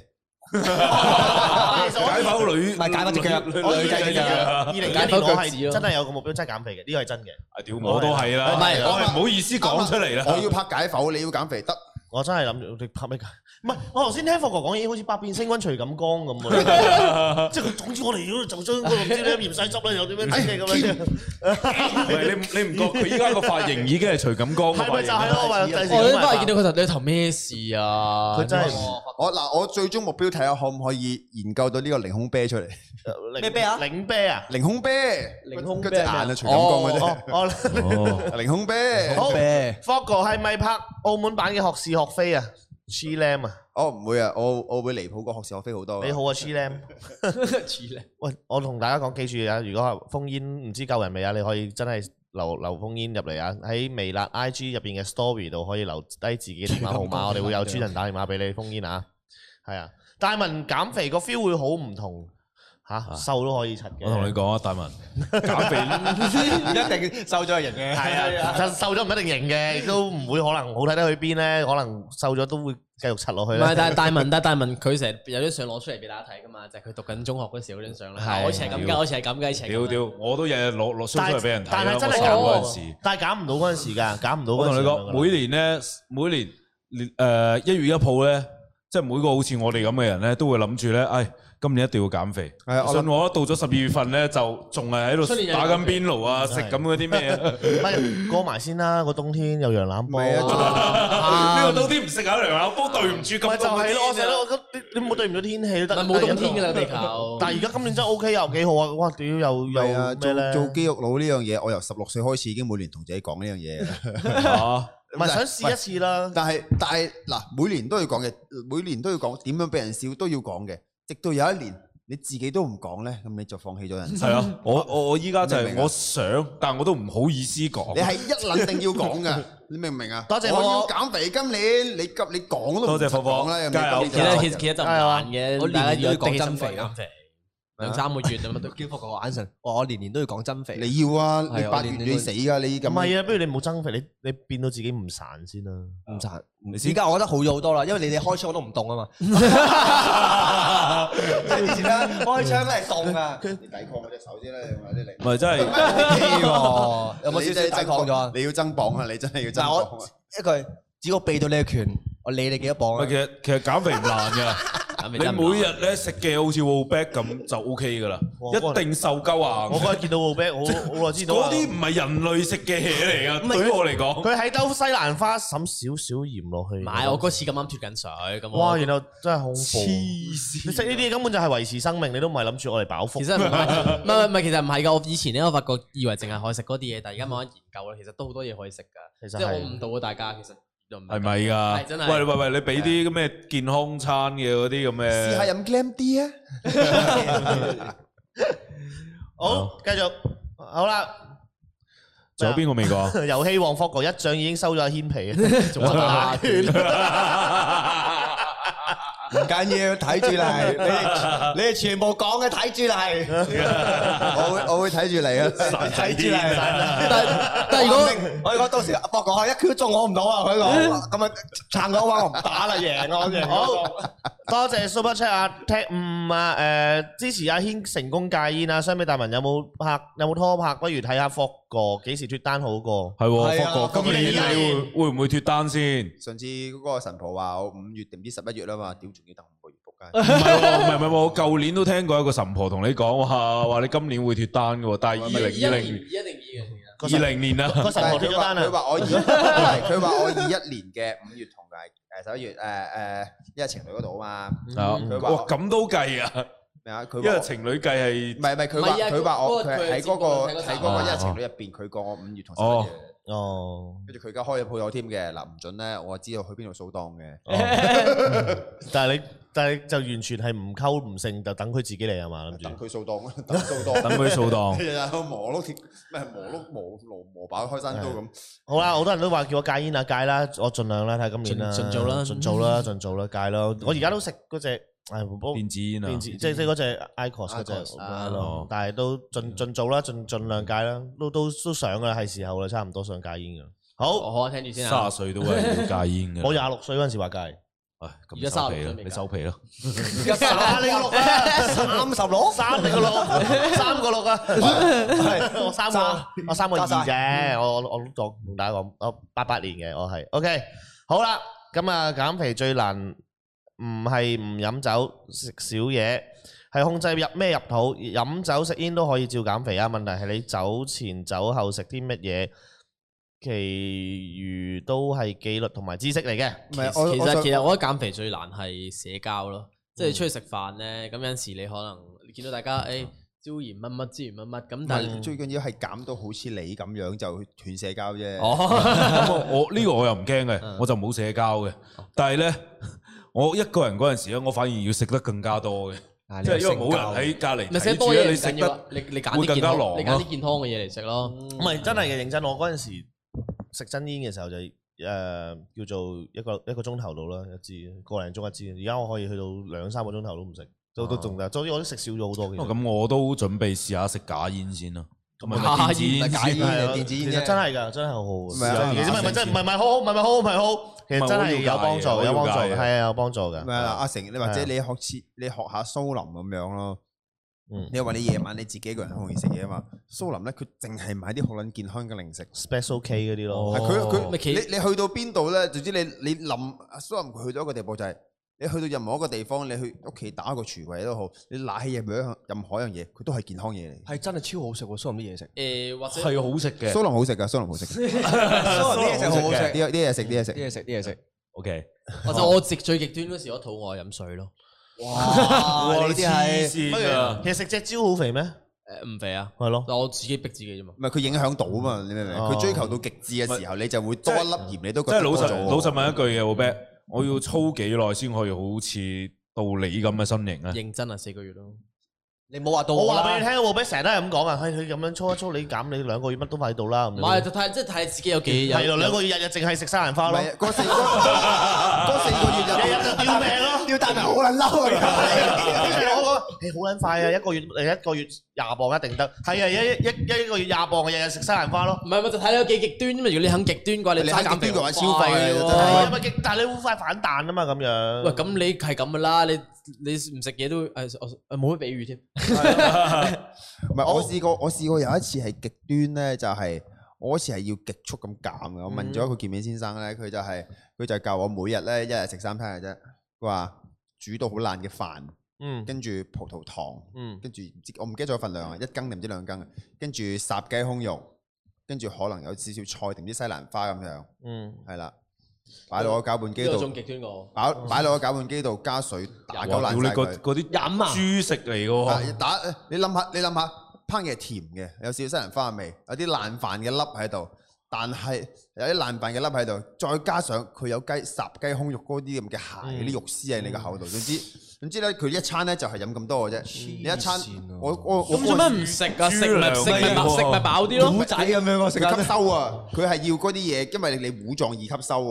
解剖女， 唔係解剖隻腳， 女仔嘅腳。二零二年我係真係有個目標，真係減肥嘅，呢個係真嘅。 啊屌，我都係啦， 唔係我係唔好意思講出嚟啦。 我要拍解剖，你要減肥得。 我真係諗住你拍咩解？唔係，我頭先聽霍哥講嘢，好似百變星君徐錦江咁啊！即係佢總之我哋如果就將嗰個唔知咧芫茜汁咧，又點樣整嘅咁樣。 唔係你你唔覺佢依家個髮型已經係徐錦江嘅髮型？ 係咪就係咯？我我都翻嚟見到佢頭，你頭咩事啊？ 佢真係我嗱，我最終目標睇下可唔可以研究到呢個凌空啤出嚟。 咩啤啊？ 凌啤啊？ 凌空啤， 凌空啤嗰隻眼啊，徐錦江嗰隻。 哦， 凌空啤。 好霍哥係咪拍澳門版嘅學是學非啊？Chi Lam 啊！ 哦唔會啊，我我會離譜過學是學非好多。 你好啊 Chi Lam。 Chi Lam。喂， 我同大家講，記住啊！如果係封煙唔知夠人未啊，你可以真係留留封煙入嚟啊！喺微辣 I G 入邊嘅 Story 度可以留低自己電話號碼，我哋會有專人打電話俾你封煙啊！係啊，大文減肥個 feel 會好唔同。吓瘦都可以柒嘅， 我同你講啊，大文減肥一定瘦咗係型嘅， 係啊，瘦咗唔一定型嘅，亦都唔會可能好睇得去邊咧，可能瘦咗都會繼續柒落去咧。 唔係，但係大文，但係大文佢成日有啲相攞出嚟俾大家睇噶嘛，就係佢讀緊中學嗰時嗰張相啦。我以前係咁㗎，我以前係咁㗎，以前。 屌屌，我都日日攞攞 show 出嚟俾人睇啦。 但係真係減嗰陣時，但係減唔到嗰陣時㗎，減唔到。 我同你講，每年咧，每年誒一月一號咧，即係每個好似我哋咁嘅人咧，都會諗住咧，唉。今年一定要減肥，信我到咗十二月份咧，就仲係喺度打緊邊爐啊，食咁嗰啲咩啊？ 唔係過埋先啦，個冬天有羊腩煲。 呢個冬天唔食下羊腩煲，對唔住咁。 咪就係咯，我成日都你你冇對唔住天氣都得。 冇冬天㗎啦，地球。 但係而家今年真係 O K 又幾好啊！哇，屌又又咩咧？ 做肌肉佬呢樣嘢，我由十六歲開始已經每年同自己講呢樣嘢。 嚇， 唔係想試一次啦。 但係但係嗱，每年都要講嘅，每年都要講點樣俾人笑都要講嘅。直到有一年你自己都唔講咧，咁你就放棄咗人生。 係啊，我我我依家就係我想，但係我都唔好意思講。 你係一撚定要講㗎，你明唔明啊？ 多謝我要減肥，今年你急你講都唔講啦。 加油！ 其實其實其實就唔難嘅， 我年年都要講增肥減肥。兩三個月咁都叫福個眼神，我年年都要講增肥。 你要啊，你八月你死㗎，你咁。 唔係啊，不如你冇增肥，你你變到自己唔孱先啦。 唔孱，而家我覺得好咗好多啦，因為你哋開槍我都唔凍啊嘛。即係以前咧開槍都係凍啊。 你抵抗我隻手先啦，用下啲力。 唔係真係， 有冇少少抵抗咗？ 你要增磅啊！你真係要增磅啊！ 一句只要避到你嘅拳，我理你幾多磅啊？ 其實其實減肥唔難㗎。你每日咧食嘅好似 Wallback 咁就 O K 噶啦，一定瘦鳩啊！ 我嗰日見到 Wallback，我好耐知道。 嗰啲唔係人類食嘅嘢嚟噶，對於我嚟講。 佢喺兜西蘭花滲少少鹽落去。 唔係，我嗰次咁啱脫緊水咁。 哇！然後真係恐怖。 黐線！ 你食呢啲嘢根本就係維持生命，你都唔係諗住我嚟飽腹。 其實唔係，唔係唔係，其實唔係噶。我以前咧，我發覺以為淨係可以食嗰啲嘢，但係而家慢慢研究啦，其實都好多嘢可以食噶。其實即係我誤導咗大家，其實。 係咪㗎？ 真係。 喂喂喂，你俾啲咩健康餐嘅嗰啲咁嘅？ 試下飲 Glam D 啊！ 好，繼續好啦。 仲有邊個未講？ 遊戲王霍哥一掌已經收咗阿軒皮，仲打拳。 唔緊要，睇住嚟，你哋你哋全部講嘅睇住嚟， 我會我會睇住你啊， 睇住嚟。但但如果我講到時博講下一 Q 中我唔到啊，佢講咁啊撐嘅話我唔打啦，贏我贏。 好多謝 Super Chat 啊，踢五啊，誒支持阿軒成功戒煙啊，相比大文有冇拍有冇拖拍，不如睇下霍哥幾時脫單好過。 係喎，霍哥今年你會會唔會脫單先？ 上次嗰個神婆話我五月定唔知十一月啦嘛，屌仲要等五個月仆街。 唔係喎，唔係唔係喎，我舊年都聽過一個神婆同你講話話你今年會脫單嘅喎，但係二零二零一定二嘅。 二零年啊， 個神婆脫咗單啊！ 佢話我二，佢話我二一年嘅五月同埋誒十一月誒誒一日情侶嗰度啊嘛。佢話哇咁都計啊？ 咩啊？佢因為情侶計係唔係唔係佢話佢話我佢喺嗰個嗰個喺嗰個一日情侶入邊，佢講我五月同十一月。 哦， 跟住佢而家開咗鋪頭添嘅，嗱唔準咧，我知道去邊度掃檔嘅。 但係你但係就完全係唔溝唔勝，就等佢自己嚟係嘛？諗住等佢掃檔，等掃檔， 等佢掃檔。 日日磨碌鐵，咩磨碌磨磨磨把開山刀咁。 好啦，好多人都話叫我戒煙啊，戒啦，我盡量啦，睇下今年啦， 盡做啦， 盡做啦，盡做啦，戒咯。我而家都食嗰隻誒電子煙啊， 電子即係即係嗰隻 IQOS 嗰隻係咯，但係都盡盡做啦，盡盡量戒啦，都都都想噶啦，係時候啦，差唔多想戒煙噶。好， 好啊，聽住先啊。 卅歲都係要戒煙嘅。 我廿六歲嗰陣時話戒， 唉，咁收皮啦，你收皮咯。 而家三你個六啊，三十六，三你個六，三個六啊，係我三個，我三個二啫，我我我都同大家講，我八八年嘅，我係 OK。好啦，咁啊減肥最難唔係唔飲酒食少嘢，係控制入咩入肚，飲酒食煙都可以照減肥啊。問題係你酒前酒後食啲乜嘢。其餘都係紀律同埋知識嚟嘅。 其實其實我覺得減肥最難係社交咯，即係出去食飯咧，咁有陣時你可能你見到大家誒椒鹽乜乜椒鹽乜乜咁，但係最緊要係減到好似你咁樣就斷社交啫。 哦，咁我呢個我又唔驚嘅，我就冇社交嘅。但係咧，我一個人嗰陣時咧，我反而要食得更加多嘅。即係因為冇人喺隔離睇住咧，你食得你你揀啲健康，你揀啲健康嘅嘢嚟食咯。 唔係真係嘅，認真。我嗰陣時食真煙嘅時候就誒叫做一個一個鐘頭到啦，一支個零鐘一支。而家我可以去到兩三個鐘頭都唔食，都都仲得。總之我都食少咗好多嘅。 咁我都準備試下食假煙先啦。咁啊， 假煙假煙係電子煙， 其實真係㗎，真係好好。唔係唔係真唔係唔係好好，唔係唔係好好，唔係好。其實真係有幫助，有幫助，係啊，有幫助㗎。 咩啊？阿成，你或者你學似你學下蘇林咁樣咯。你話你夜晚你自己一個人好容易食嘢啊嘛？蘇林咧，佢淨係買啲好撚健康嘅零食 ，Special K 嗰啲咯。 係佢佢，你你去到邊度咧？總之你你諗蘇林佢去到一個地步就係，你去到任何一個地方，你去屋企打個廚櫃都好，你拿起任何一任何一樣嘢，佢都係健康嘢嚟。 係真係超好食喎！蘇林啲嘢食， 誒或者係好食嘅。 蘇林好食㗎，蘇林好食。蘇林啲嘢食好食， 啲啲嘢食，啲嘢食， 啲嘢食，啲嘢食。 OK。 或者我食最極端嗰時，我肚餓飲水咯。 哇！呢啲係， 其實食隻蕉好肥咩？ 誒唔肥啊， 係咯。 但我自己逼自己啫嘛。 唔係佢影響到啊嘛，你明唔明？佢追求到極致嘅時候，你就會多一粒鹽，你都覺得即係老實老實問一句嘅，我 bet 我要操幾耐先可以好似到你咁嘅身形咧？ 認真啊，四個月咯。 你冇話到我話俾你聽，我俾成日都係咁講啊，佢佢咁樣操一操，你減你兩個月乜都快到啦。唔係就睇即係睇自己有幾係咯，兩個月日日淨係食西蘭花咯。 嗰四嗰四個月日日就吊命咯， 吊大命好撚嬲啊！ 我講誒好撚快啊，一個月誒一個月廿磅一定得。係啊，一一一個月廿磅，日日食西蘭花咯。 唔係咪就睇你有幾極端啫嘛？如果你肯極端嘅話，你齋減肥嘅話消費嘅喎。 係咪極？但係你好快反彈啊嘛，咁樣。 喂，咁你係咁噶啦，你你唔食嘢都誒我冇乜比喻添。 唔係我試過，我試過有一次係極端咧，就係我嗰次係要極速咁減嘅。我問咗一個健美先生咧，佢就係佢就教我每日咧一日食三餐嘅啫。佢話煮到好爛嘅飯，嗯，跟住葡萄糖，嗯，跟住唔知我唔記得咗份量啊，一羹定唔知兩羹啊，跟住烚雞胸肉，跟住可能有少少菜定啲西蘭花咁樣，嗯，係啦。擺落個攪拌機度， 仲極端過。 擺擺落個攪拌機度加水打攪爛晒佢。 嗰啲飲啊，豬食嚟嘅喎。 打你諗下，你諗下，烹嘢係甜嘅，有少少西蘭花味，有啲爛飯嘅粒喺度，但係有啲爛飯嘅粒喺度，再加上佢有雞烚雞胸肉嗰啲咁嘅蟹嗰啲肉絲喺你個口度，總之總之咧，佢一餐咧就係飲咁多嘅啫。你一餐我我咁做咩唔食啊？食咪食咪食咪飽啲咯。 糊仔咁樣我食吸收啊！佢係要嗰啲嘢，因為你糊狀易吸收啊。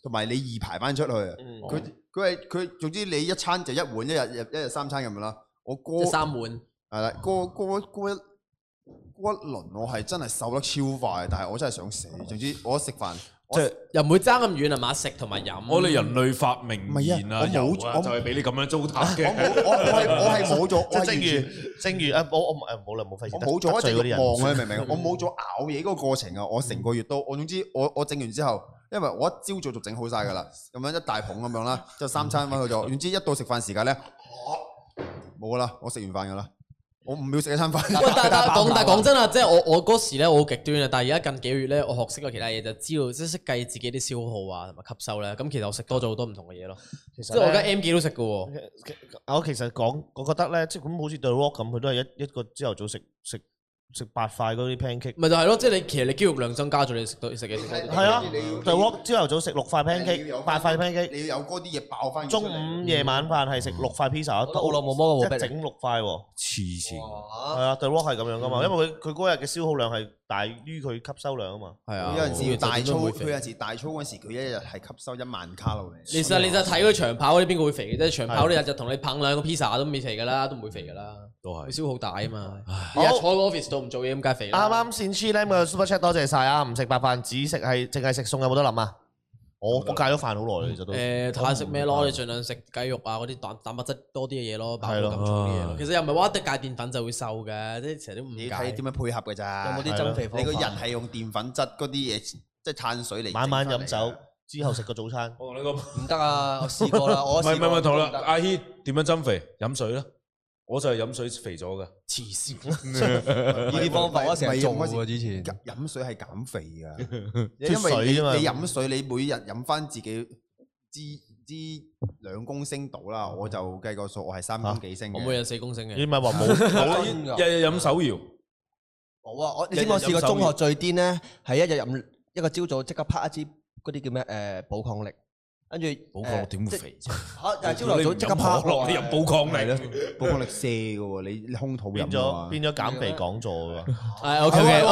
同埋你易排翻出去啊。佢佢係佢總之你一餐就一碗，一日日一日三餐咁樣啦。我過三碗係啦，過過過一過一輪我係真係瘦得超快，但係我真係想死。總之我食飯。 即係又唔會爭咁遠啊嘛，食同埋飲。 我哋人類發明麵啊，油啊，就係俾你咁樣糟蹋嘅。 我我我係我係冇咗， 即係正如正如啊，我我誒冇啦冇費事。 我冇咗一直望啊，明唔明？我冇咗咬嘢嗰個過程啊！我成個月都，我總之我我整完之後，因為我一朝早就整好晒㗎啦，咁樣一大捧咁樣啦，之後三餐翻去咗。總之一到食飯時間咧，冇啦，我食完飯㗎啦。我唔秒食一餐飯。 喂，但但講但講真啊，即係我我嗰時咧，我好極端啊。但係而家近幾個月咧，我學識咗其他嘢，就知道即係識計自己啲消耗啊，同埋吸收咧。咁其實我食多咗好多唔同嘅嘢咯。其實即係我而家 M 記都食嘅喎。 我其實講，我覺得咧，即係咁好似 The Rock 咁，佢都係一一個朝頭早食食食八塊嗰啲 pancake。 咪就係咯，即係你其實你肌肉量增加咗，你食到食嘢食多啲。 係啊 The Rock 朝頭早食六塊 pancake，八塊 pancake。 你要有嗰啲嘢爆翻。 中午夜晚飯係食六塊 pizza， 好耐冇摸過一整六塊喎。 黐線。 係啊 The Rock 係咁樣噶嘛，因為佢佢嗰日嘅消耗量係大於佢吸收量啊嘛。 係啊。 有陣時大操，佢有陣時大操嗰時，佢一日係吸收一萬卡路里。 其實你就睇佢長跑嗰啲邊個會肥嘅啫？長跑嗰啲日就同你捧兩個 pizza 都未肥㗎啦，都唔會肥㗎啦。都係。佢消耗大啊嘛。日日坐喺 office 度唔做嘢咁梗係肥啦。啱啱先 Chi Lam 嘅 Super Chat 多謝晒啊！唔食白飯，只食係淨係食餸，有冇得諗啊？我我戒咗飯好耐啦，其實都。誒睇下食咩咯？你盡量食雞肉啊，嗰啲蛋蛋白質多啲嘅嘢咯，飽到咁重嘅嘢咯。其實又唔係話一定戒澱粉就會瘦嘅，即係成日都唔戒。 你睇點樣配合㗎咋？ 有冇啲增肥方法？ 你個人係用澱粉質嗰啲嘢，即係碳水嚟。 晚晚飲酒之後食個早餐。 我同你講唔得啊！我試過啦，我唔係唔係唔係，同啦，阿軒點樣增肥？飲水啦。我就係飲水肥咗噶， 黐線！ 呢啲方法我成日做喎，之前飲水係減肥噶，因為你你飲水，你每日飲翻自己支支兩公升到啦，我就計個數，我係三公幾升嘅。 我每日四公升嘅。 你咪話冇日日飲手搖？ 冇啊！我你知我試過中學最癲咧，係一日飲一個朝早即刻拍一支嗰啲叫咩誒寶礦力。跟住寶礦力點會肥啫？ 嚇！但係朝頭早即刻拍落你入寶礦力咯，寶礦力瀉嘅喎，你你空肚飲咗變咗減肥講座㗎。 係 OK OK。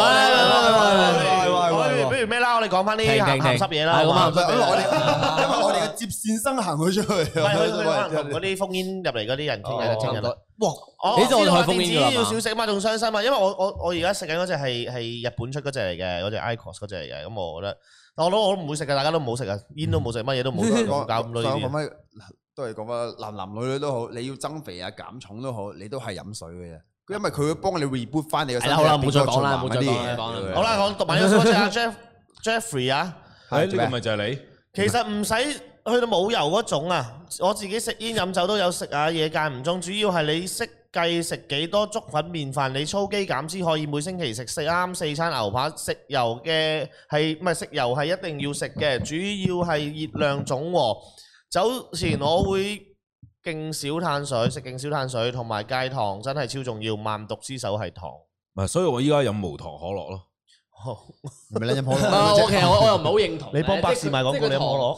不如咩啦？我哋講翻啲鹹鹹濕嘢啦。 因為我哋因為我哋嘅接線生行咗出去， 係去去同嗰啲烽煙入嚟嗰啲人傾偈傾偈。哇！ 你就我開烽電子煙要少食嘛，仲傷心啊！因為我我我而家食緊嗰隻係係日本出嗰隻嚟嘅，嗰隻 Icos 嗰隻嚟嘅，咁我覺得。我都我都唔會食嘅，大家都唔好食啊！煙都冇食，乜嘢都冇搞咁多嘢。 講翻都係講翻男男女女都好，你要增肥啊減重都好，你都係飲水嘅啫。因為佢會幫你 reboot 翻你嘅身體。 好啦，唔好再講啦，唔好再講啦。 好啦，我讀埋呢個 super chat 啊 ，Jeff Jeffrey 啊， 係呢個咪就係你。 其實唔使去到冇油嗰種啊，我自己食煙飲酒都有食下嘢間唔中，主要係你識計食幾多粥粉麵飯，你操肌減脂可以每星期食四啱四餐牛扒，食油嘅係唔係食油係一定要食嘅，主要係熱量總和。走前我會勁少碳水，食勁少碳水，同埋戒糖真係超重要，萬毒之首係糖。 唔係，所以我依家飲無糖可樂咯。 咪你飲可樂？ 我其實我我又唔係好認同。 你幫百事賣廣告，你飲可樂？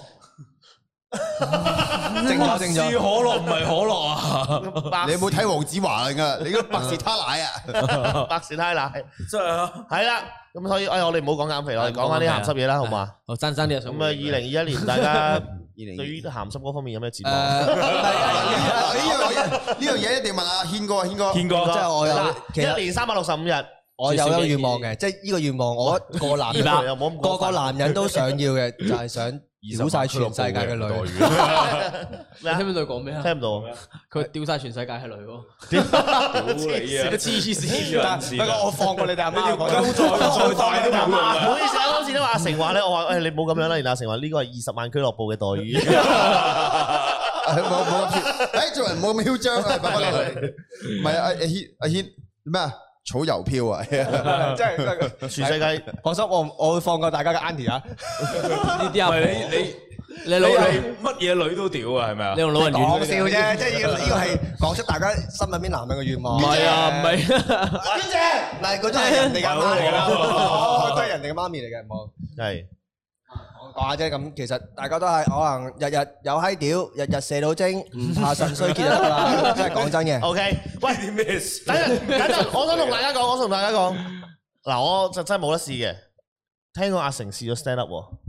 正咗正咗， 可樂唔係可樂啊！ 你有冇睇黃子華㗎？你嗰百事他奶啊！ 百事他奶， 真係啊！ 係啦，咁所以誒，我哋唔好講減肥啦，我哋講翻啲鹹濕嘢啦，好嘛？ 好，爭爭啲啊！ 咁啊，二零二一年大家對於鹹濕嗰方面有咩展望？ 呢樣呢樣嘢一定問阿軒哥，軒哥， 軒哥， 即係我有一年三百六十五日， 我有個願望嘅，即係呢個願望，我個男人個個男人都想要嘅，就係想屌晒全世界嘅女。 你聽唔到佢講咩啊？ 聽唔到。 佢屌晒全世界嘅女喎。 屌你啊！ 黐線！ 不過我放過你哋阿媽， 交再再大都冇用唔好意思啊，嗰次都話阿成話咧，我話誒你冇咁樣啦，然後阿成話呢個係二十萬俱樂部嘅待遇。 冇冇誒做人冇咁囂張啊！唔係阿阿軒阿軒咩啊？草郵票啊！ 真係全世界放心，我我會放過大家嘅 Auntie 啊！ 呢啲啊， 你你你老乜嘢女都屌啊？係咪啊？ 你用老人院講笑啫，即係呢個呢個係講出大家心入邊男人嘅願望。 唔係啊，唔係。 邊隻？嗱，嗰啲係人哋嘅媽嚟啦，都係人哋嘅媽咪嚟嘅，冇係。 講下啫，咁其實大家都係可能日日有閪屌，日日射到精，唔怕腎衰竭就得啦。真係講真嘅。 O K，喂， 啲咩事？ 等陣，等陣，我想同大家講，我想同大家講，嗱，我就真係冇得試嘅。聽講阿成試咗 stand up 喎。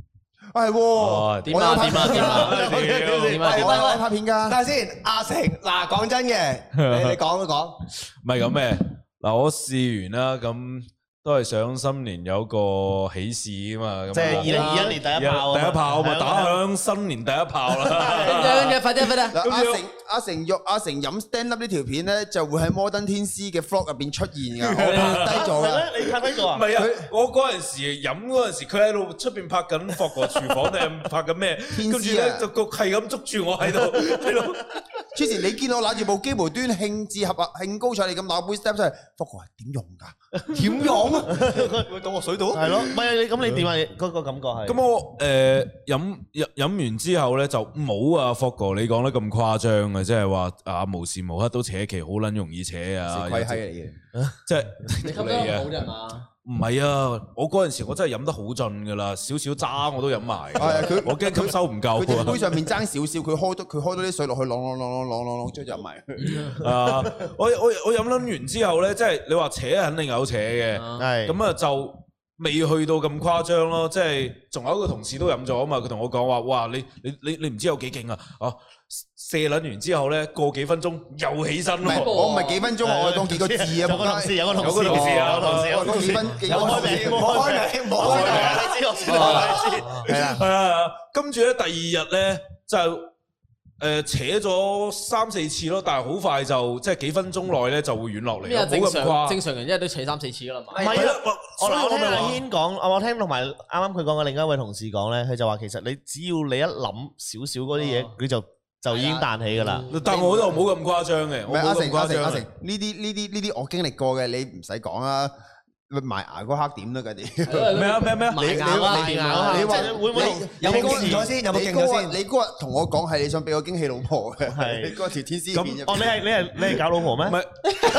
係喎， 點啊點啊點啊點啊點啊！ 我拍片㗎。等下先，阿成嗱講真嘅，你你講一講。 唔係咁咩？嗱，我試完啦，咁都係想新年有個喜事啊嘛。 即係二零二一年第一炮， 第一炮咪打響新年第一炮啦。 跟住快啲快啲！ 嗱，阿成阿成肉阿成飲 stand up 呢條片咧，就會喺摩登天師嘅 vlog 入邊出現㗎。我拍低咗㗎。 你拍低咗啊？ 唔係啊，我嗰陣時飲嗰陣時，佢喺度出邊拍緊霍哥廚房定係拍緊咩？跟住咧就個係咁捉住我喺度喺度。 之前你見我拿住部機無端興致合啊興高采烈咁攞杯 step 出嚟，霍哥話點用㗎？點用啊？會倒落水度？ 係咯，唔係你咁你點啊？嗰個感覺係。 咁我誒飲飲飲完之後咧就冇啊，霍哥你講得咁誇張啊，即係話啊無時無刻都扯旗，好撚容易扯啊！ 鬼閪嚟嘅， 即係你吸得好啫嘛？ 唔係啊！我嗰陣時我真係飲得好盡噶啦，少少渣我都飲埋。係佢我驚吸收唔夠。 佢杯上面爭少少，佢開多佢開多啲水落去，啷啷啷啷啷啷啷，將入埋。 啊！我我我飲撚完之後咧，即係你話扯肯定有扯嘅， 係咁啊就未去到咁誇張咯。即係仲有一個同事都飲咗啊嘛，佢同我講話：哇！你你你你唔知有幾勁啊！啊！射撚完之後咧，過幾分鐘又起身咯。 我唔係幾分鐘，我係講幾個字啊！ 有個同事，有個同事， 有個同事啊， 有個同事，有個同事， 幾分幾個開名，冇開名，冇開名，你知我知道，你知。係啊， 係啊。跟住咧，第二日咧就誒扯咗三四次咯，但係好快就即係幾分鐘內咧就會軟落嚟。 咩啊？正常正常人一日都扯三四次噶啦嘛。 唔係啊，我我聽阿軒講，我聽同埋啱啱佢講嘅另一位同事講咧，佢就話其實你只要你一諗少少嗰啲嘢，佢就就已經彈起㗎啦， 但我就冇咁誇張嘅。 唔係阿成阿成阿成，呢啲呢啲呢啲我經歷過嘅，你唔使講啊。埋牙嗰刻點都嗰啲咩啊咩咩？ 埋牙啊！ 你話會唔會有冇勁咗先？有冇勁咗先？ 你嗰日同我講係你想俾我驚喜老婆嘅， 係你嗰條天師片入。 哦，你係你係你係搞老婆咩？ 唔係。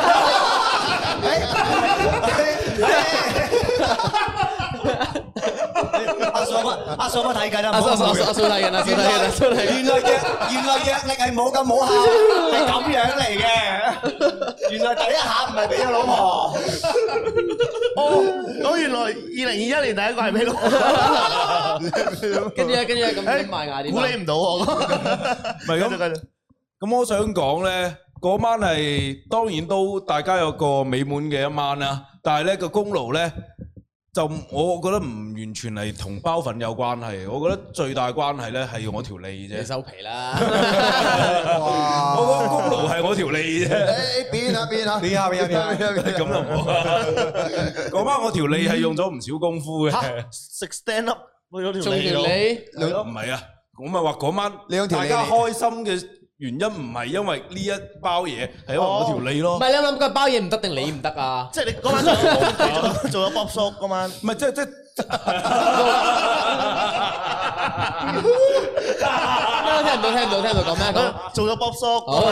阿嫂乜？阿嫂乜睇緊啊？ 阿嫂阿嫂阿嫂睇緊啊！睇緊啊！睇緊。 原來藥原來藥力係冇咁冇效，係咁樣嚟嘅。原來第一下唔係俾咗老婆。 哦，咁原來二零二一年第一個係俾老婆。 跟住咧，跟住咧，咁咁賣牙點？ 估你唔到我。 唔係咁。咁我想講咧，嗰晚係當然都大家有個美滿嘅一晚啦，但係咧個功勞咧。就我覺得唔完全係同包粉有關係，我覺得最大關係咧係我條脷啫。 你收皮啦！ 哇！我個功勞係我條脷啫。 誒變下變下變下變下變下， 咁就冇啊！嗰晚我條脷係用咗唔少功夫嘅。 食 stand up 去咗條仲條脷， 唔係啊！我咪話嗰晚你用條大家開心嘅原因唔係因為呢一包嘢，係因為我條脷咯。 唔係你諗個包嘢唔得定你唔得啊？ 即係你嗰晚做做咗 Bob Shop 嗰晚， 唔係即係即係。 聽唔到聽唔到聽唔到講咩講？ 做咗 Bob Shop 嗰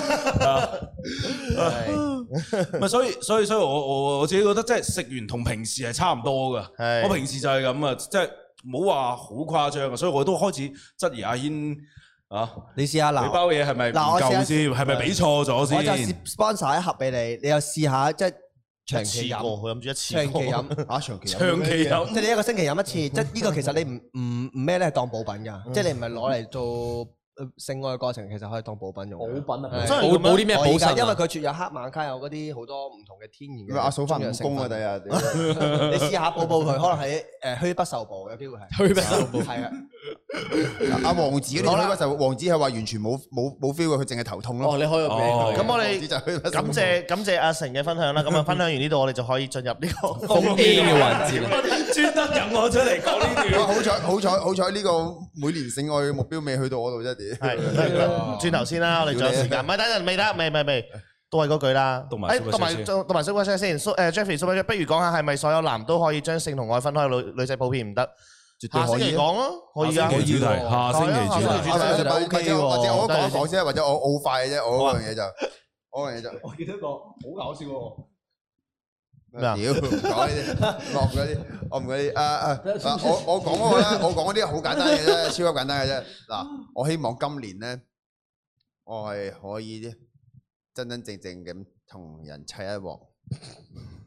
晚， 唔係所以所以所以我我我自己覺得即係食完同平時係差唔多㗎。我平時就係咁啊，即係冇話好誇張啊，所以我都開始質疑阿軒。啊！ 你試下嗱， 你包嘢係咪唔夠先？係咪俾錯咗先？ 我就 sponsor 一盒俾你，你又試下即係長期飲。 佢諗住一次長期飲啊，長期長期飲， 即係你一個星期飲一次，即係呢個其實你唔唔唔咩咧，係當補品㗎，即係你唔係攞嚟做性愛過程，其實可以當補品用。 補品啊！ 真係補補啲咩補腎？ 因為佢設有黑瑪卡，有嗰啲好多唔同嘅天然嘅。 阿嫂翻唔工啊！第日你試下補補佢，可能係誒虛不受補，有機會係虛不受補。 係啊。 阿王子嗰啲虛不受，王子係話完全冇冇冇 feel 嘅，佢淨係頭痛咯。 哦，你開個名。 咁我哋感謝感謝阿成嘅分享啦。咁啊，分享完呢度，我哋就可以進入呢個封 A 嘅環節。 專登引我出嚟講呢段。 好彩好彩好彩呢個每年性愛嘅目標未去到我度啫，啲。 係。轉頭先啦，我哋仲有時間，唔係等陣未得，未未未，都係嗰句啦。同埋同埋同埋 Super Chat 先，誒 Jeffrey Super Chat，不如講下係咪所有男都可以將性同愛分開？女女仔普遍唔得。下星期講咯，可以啊。 下星期主題，下星期主題。 或者或者我講一講先，或者我好快嘅啫，我嗰樣嘢就，我嗰樣嘢就。 我記得個好搞笑喎。 咩啊？屌，唔講呢啲，落嗰啲，我唔嗰啲。啊啊，我我講嗰個咧，我講嗰啲好簡單嘅啫，超級簡單嘅啫。嗱，我希望今年咧，我係可以真真正正咁同人砌一鑊。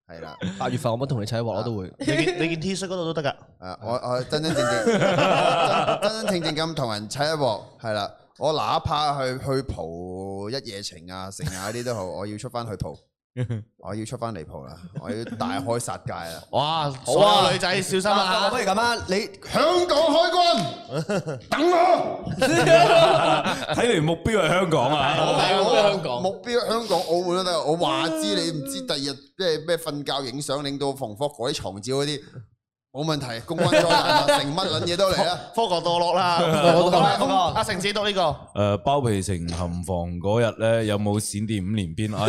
係啦。 八月份我冇同你砌一鑊，我都會。 你件你件 T 恤嗰度都得㗎。 誒，我我真真正正真真正正咁同人砌一鑊，係啦。我哪怕去去蒲一夜情啊、成啊嗰啲都好，我要出翻去蒲。我要出翻嚟蒲啦！我要大開殺戒啦！ 哇！所有女仔小心啊！ 不如咁啊，你香港海軍等我。 睇嚟目標係香港啊！ 目標香港， 目標香港、澳門都得。我話知你唔知第二日咩咩瞓覺影相，領到馮福嗰啲床照嗰啲冇問題，公關災難成乜撚嘢都嚟啦！ 科學墮落啦！阿成子讀呢個誒包皮城含房嗰日咧，有冇閃電五連鞭啊？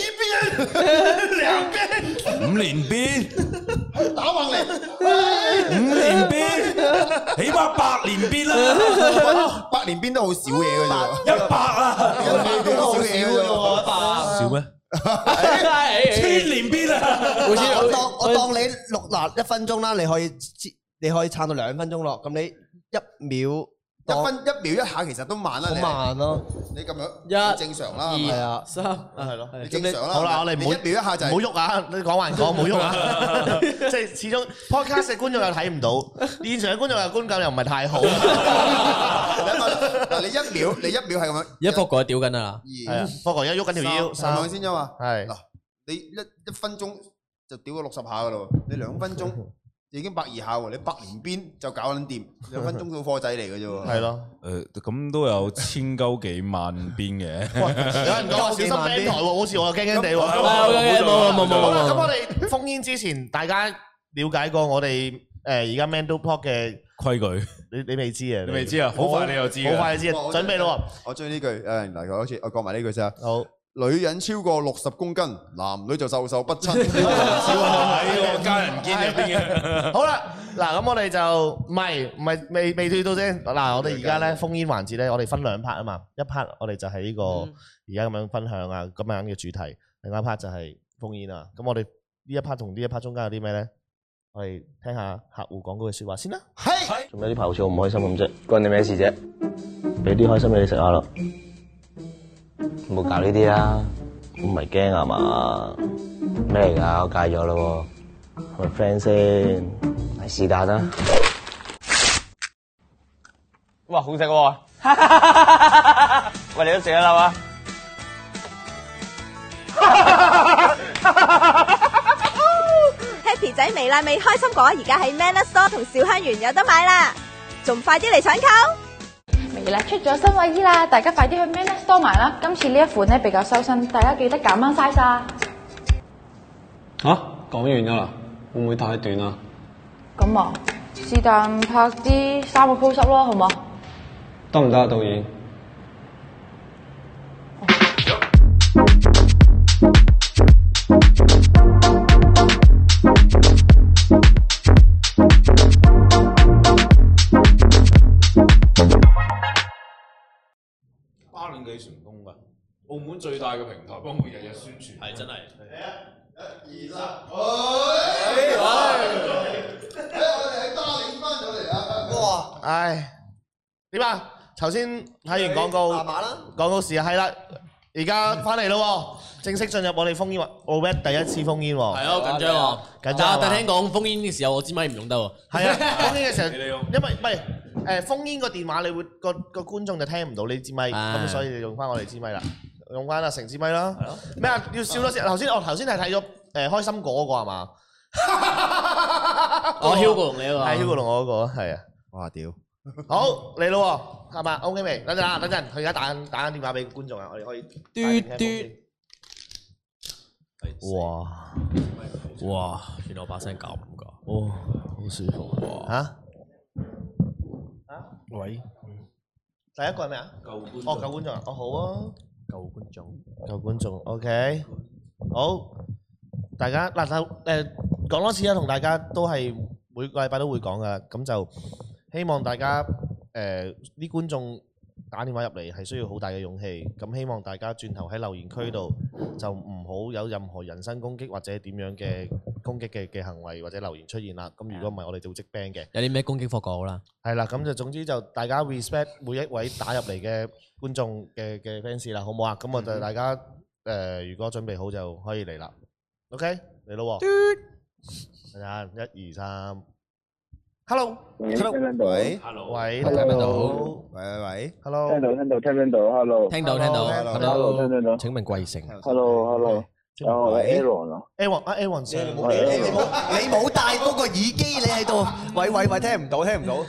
兩邊五連鞭， 打橫嚟， 五連鞭，起碼八連鞭啦， 八連鞭都好少嘢嘅啫， 一百啊， 都好少嘢嘅啫， 一百少咩？千連鞭啊！ 我當我當你錄嗱一分鐘啦，你可以你可以撐到兩分鐘咯，咁你一秒。 一分一秒一下其實都慢啦， 好慢咯。 你咁樣一正常啦， 係啊， 三啊係咯， 正常啦。 好啦，我哋唔好一秒一下就唔好喐啊！你講還講，唔好喐啊！即係始終 podcast 嘅觀眾又睇唔到，現場嘅觀眾又觀感又唔係太好。 嗱，你一秒你一秒係咁樣， 一幅過屌緊啊！ 係啊，不過而家喐緊條腰， 三兩先啫嘛。 係嗱，你一一分鐘就屌咗六十下噶咯，你兩分鐘。已經百二下喎，你百連鞭就搞撚掂，兩分鐘到貨仔嚟嘅啫喎。 係咯， 誒咁都有千鳩幾萬鞭嘅。 有人講小心 band 台喎，好似我又驚驚地喎。 冇冇冇冇冇。 咁我哋封煙之前，大家了解過我哋誒而家 Mando Pop 嘅規矩， 你你未知啊？ 你未知啊？好快你又知， 好快就知啊！準備咯。 我中意呢句誒，嚟講好似我講埋呢句先啊。 好。 女人超過六十公斤，男女就授受不親。 喺個家人堅入邊嘅。 好啦，嗱咁我哋就唔係唔係未未退到先。嗱，我哋而家咧封煙環節咧，我哋分兩 part 啊嘛。一 part 我哋就係呢個而家咁樣分享啊，咁樣嘅主題。另一 part 就係封煙啊。咁我哋呢一 part 同呢一 part 中間有啲咩咧？我哋聽下客戶講嗰句説話先啦。 係。 做咩啲排好似好唔開心咁啫？關你咩事啫？俾啲開心嘢你食下咯。冇搞呢啲啊！唔係驚啊嘛？咩嚟㗎？我戒咗咯喎，係咪 friend 先？係是但啦。哇，好食喎！喂，你都食得啦嘛 ？Happy 仔微辣味開心果而家喺 Manner Store 同小香園有得買啦，仲快啲嚟搶購！ 微辣出咗新衛衣啦，大家快啲去 Manner Store 買啦！今次呢一款咧比較修身，大家記得減翻 size 啊！ 吓，講完㗎啦，會唔會太短啊？ 咁啊，是但拍啲三個 pose up 咯，好唔好？ 得唔得啊，導演？ 巴領幾成功㗎？澳門最大嘅平台幫佢日日宣傳， 係真係。 一、二、三，哎！哎！我哋喺巴領翻咗嚟啊！ 哇！唉，點啊？頭先睇完廣告，廣告時啊，係啦，而家翻嚟咯，正式進入我哋封煙喎 ，Obed 第一次封煙喎。 係啊，好緊張喎， 緊張。 但係聽講封煙嘅時候，我支咪唔用得喎。 係啊，封煙嘅時候，因為唔係誒封煙個電話，你會個個觀眾就聽唔到你支咪，咁所以你用翻我哋支咪啦，用翻阿成支咪啦。係咯。咩啊？要笑多先。頭先我頭先係睇咗誒開心果嗰個係嘛？ 我 Hugo 同你嗰個。 係 Hugo 同我嗰個，係啊。 哇屌！ 好嚟咯喎，係嘛 ？OK 未？等陣啊，等陣，佢而家打緊打緊電話俾觀眾啊，我哋可以。 嘟嘟。 哇哇！原來我把聲咁㗎。 哦，好舒服喎。嚇？嚇？喂？第一個係咩啊？舊觀眾。哦，舊觀眾啊！哦，好啊。 舊觀眾。 舊觀眾 ，OK。好，大家嗱就誒講多次啦，同大家都係每個禮拜都會講噶，咁就。希望大家誒啲觀眾打電話入嚟係需要好大嘅勇氣，咁希望大家轉頭喺留言區度就唔好有任何人身攻擊或者點樣嘅攻擊嘅嘅行為或者留言出現啦。咁如果唔係，我哋就會即 ban 嘅。 有啲咩攻擊課講好啦。係啦，咁就總之就大家 respect 每一位打入嚟嘅觀眾嘅嘅 fans 啦，好唔好啊？咁我就大家誒，如果準備好就可以嚟啦。OK。 嚟咯喎！等陣，一二三 ，Hello， 聽聽到？ 喂 ，Hello， 喂， 聽唔聽到？ 喂喂 ，Hello， 聽到聽到聽唔聽到 ？Hello， 聽到聽到 ，Hello，聽唔聽到？ 請問貴姓 ？Hello，Hello，我係 Aaron 啊 ，Aaron 啊 Aaron 先， 你冇你冇戴嗰個耳機，你喺度，喂喂喂，聽唔到聽唔到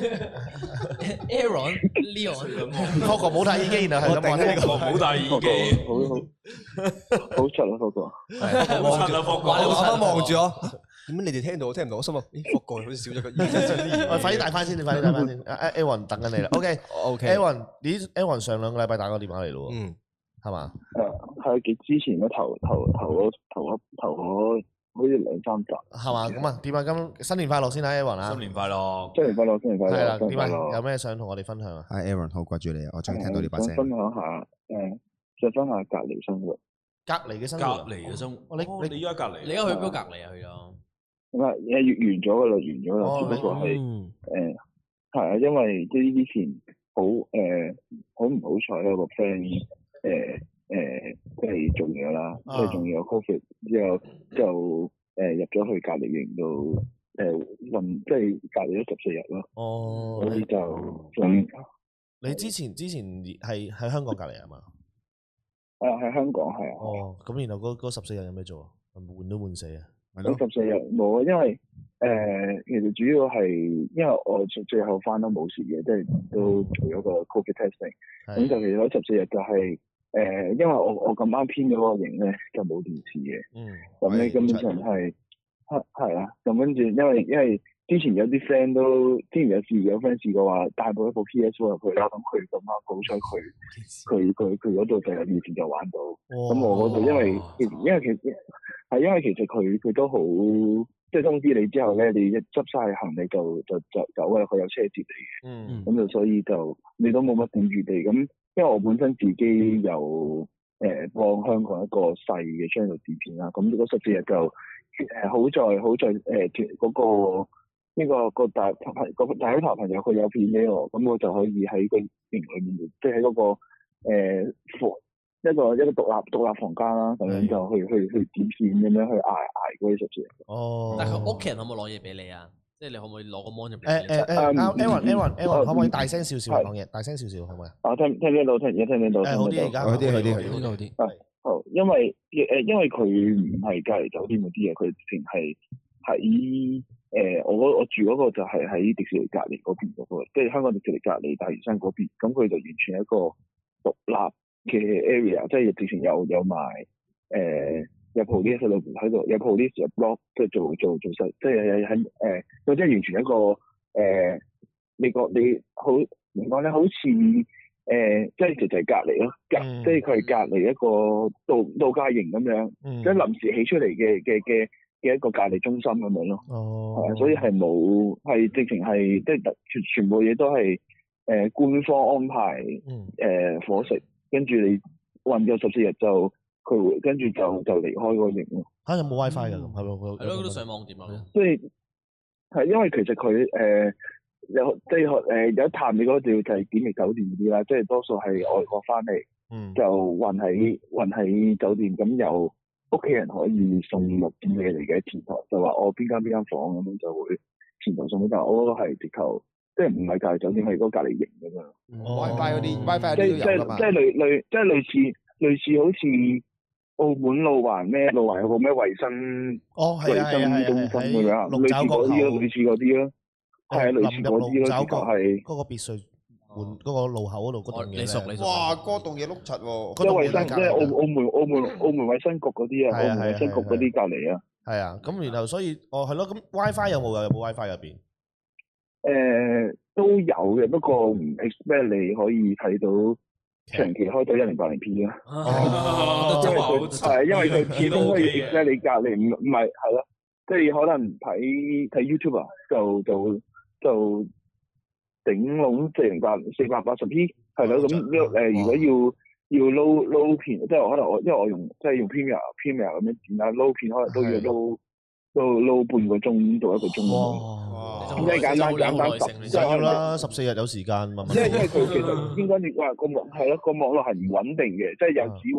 Aaron Leon， 福哥冇戴耳機，然後係咁話呢個冇戴耳機， 好好好出啊，福哥， 好出啊，福哥， 我啱啱望住我，點解你哋聽到我聽唔到？我心諗，咦，福哥好似少咗個耳機。 喂，快啲戴翻先，你快啲戴翻先。阿 Aaron 等緊你啦。OK，OK，Aaron，你 Aaron 上兩個禮拜打個電話嚟咯喎， 嗯， 係嘛？ 誒係幾之前嗰頭頭頭嗰頭嗰頭嗰好似兩三集， 係嘛？咁啊，點啊？今新年快樂先啦，Aaron 啊！ 新年快樂， 新年快樂，新年快樂， 係啦，點啊？ 新年快樂有咩想同我哋分享啊？ 係 Aaron，好掛住你啊！我終於聽到呢把聲。 想分享下誒，想分享下隔離生活。 隔離嘅生活， 隔離嘅生活。 哦，你你依家隔離， 你而家去邊度隔離啊？去咗？ 咁啊，誒完咗噶啦，完咗啦，只不過係誒係啊，因為即係之前好誒好唔好彩有個 friend 誒誒即係中咗啦，即係中咗 Covid 之後就誒入咗去隔離營度誒運，即係隔離咗十四日咯。 哦， 所以就咁。 你之前之前係喺香港隔離啊嘛？ 係啊，喺香港係啊。 哦，咁然後嗰嗰十四日有咩做啊？悶都悶死啊！ 嗰十四日冇啊，因為誒、呃、其實主要係因為我最後翻都冇事嘅，即係都做咗個 Covid testing。咁就其實嗰十四日就係、是、誒、呃，因為我我咁啱編咗嗰個營咧就冇電視嘅。嗯。咁咧根本上係係係啊，咁跟住因為因為之前有啲 friend 都之前有試有 friend 試過話帶部一部 P S four 入去啦，咁佢咁啱好彩佢佢佢佢嗰度就有電視就玩到。咁我嗰度因為因為其實係因為其實佢佢都好，即係通知你之後咧，你一執晒行李就就就走㗎啦，佢有車接你嘅。嗯。咁就所以就你都冇乜點預備。咁因為我本身自己有誒幫香港一個細嘅 channel 剪片啦，咁嗰十四日就誒好在好在誒嗰個。呢、這個個大朋個大學頭朋友佢有片俾我，咁我就可以喺個營裏面，即係喺嗰個誒房、呃、一個一個獨立獨立房間啦，咁樣就去去去剪片咁樣去捱捱嗰啲十四日。哦。但係佢屋企人可唔可以攞嘢俾你啊？即係你可唔可以攞個 mon 入嚟？誒誒誒，Aaron Aaron Aaron，可唔可以大聲少少講嘢？大聲少少可唔可以？啊，聽聽聽到，聽而家聽聽到。誒，好啲而家。好啲，好啲，好啲。係，好，因為誒因為佢唔係隔離酒店嗰啲嘢，佢直情係喺。誒、呃，我我住嗰個就係喺迪士尼隔離嗰邊嗰、那個，即係香港迪士尼隔離大嶼山嗰邊，咁佢就完全係一個獨立嘅 area，即係直情有有埋誒有 police 喺度喺度，有 police 有 block 即係做做做實，即係喺誒，佢即係完全一個誒、呃，你個你好點講咧？好似誒、呃，即係就就係隔離咯，隔、嗯、即係佢係隔離一個度度假營咁樣，嗯、即係臨時起出嚟嘅嘅嘅。嘅一個隔離中心咁樣咯，係啊，所以係冇係直情係即係全全部嘢都係誒、呃、官方安排誒、呃、伙食，跟住你運咗十四日就佢會跟住就就離開個營咯。嚇有冇 WiFi 㗎？係咯，係咯，都上網點啊？即係係因為其實佢誒、呃、有即係誒有一探你嗰度就係檢疫酒店嗰啲啦，即係多數係外國翻嚟、嗯、就運喺運喺酒店咁有。屋企人可以送六點嘢嚟嘅前台，就話我邊間邊間房咁樣就會前台送俾，但係我嗰個係直頭，即係唔係隔離酒店，係嗰個隔離營咁樣。WiFi 嗰啲 WiFi 嗰啲都有㗎嘛。即係即係類類即係類似類似好似澳門路環咩路環有個咩衞生哦衞生中心咁樣，類似嗰啲咯，類似嗰啲咯，係啊，類似嗰啲咯，直頭係嗰個別墅。換嗰個路口嗰度嗰棟嘢，你熟你熟。哇！嗰棟嘢碌柒喎。即係衞生，即係澳澳門澳門澳門衞生局嗰啲啊，澳門衞生局嗰啲隔離啊。係啊，咁然後所以，哦係咯，咁 WiFi 有冇啊？有冇 WiFi 入邊？誒都有嘅，不過唔 expect 你可以睇到長期開到一零八零 P 啊。哦，因為佢係因為佢始終可以 expect 你隔離，唔唔係係咯，即係可能睇睇 YouTube 啊，就就就。頂籠四零八四百八十 P 係咯，咁誒如果要要撈撈片，即係可能我因為我用即係用 Premiere Premiere 咁樣剪下撈片，可能都要撈撈撈半個鐘到一個鐘。哇！咁即係簡單簡單十，即係啦，十四日有時間。因為因為佢其實應該你話個網係咯，個網絡係唔穩定嘅，即係有時會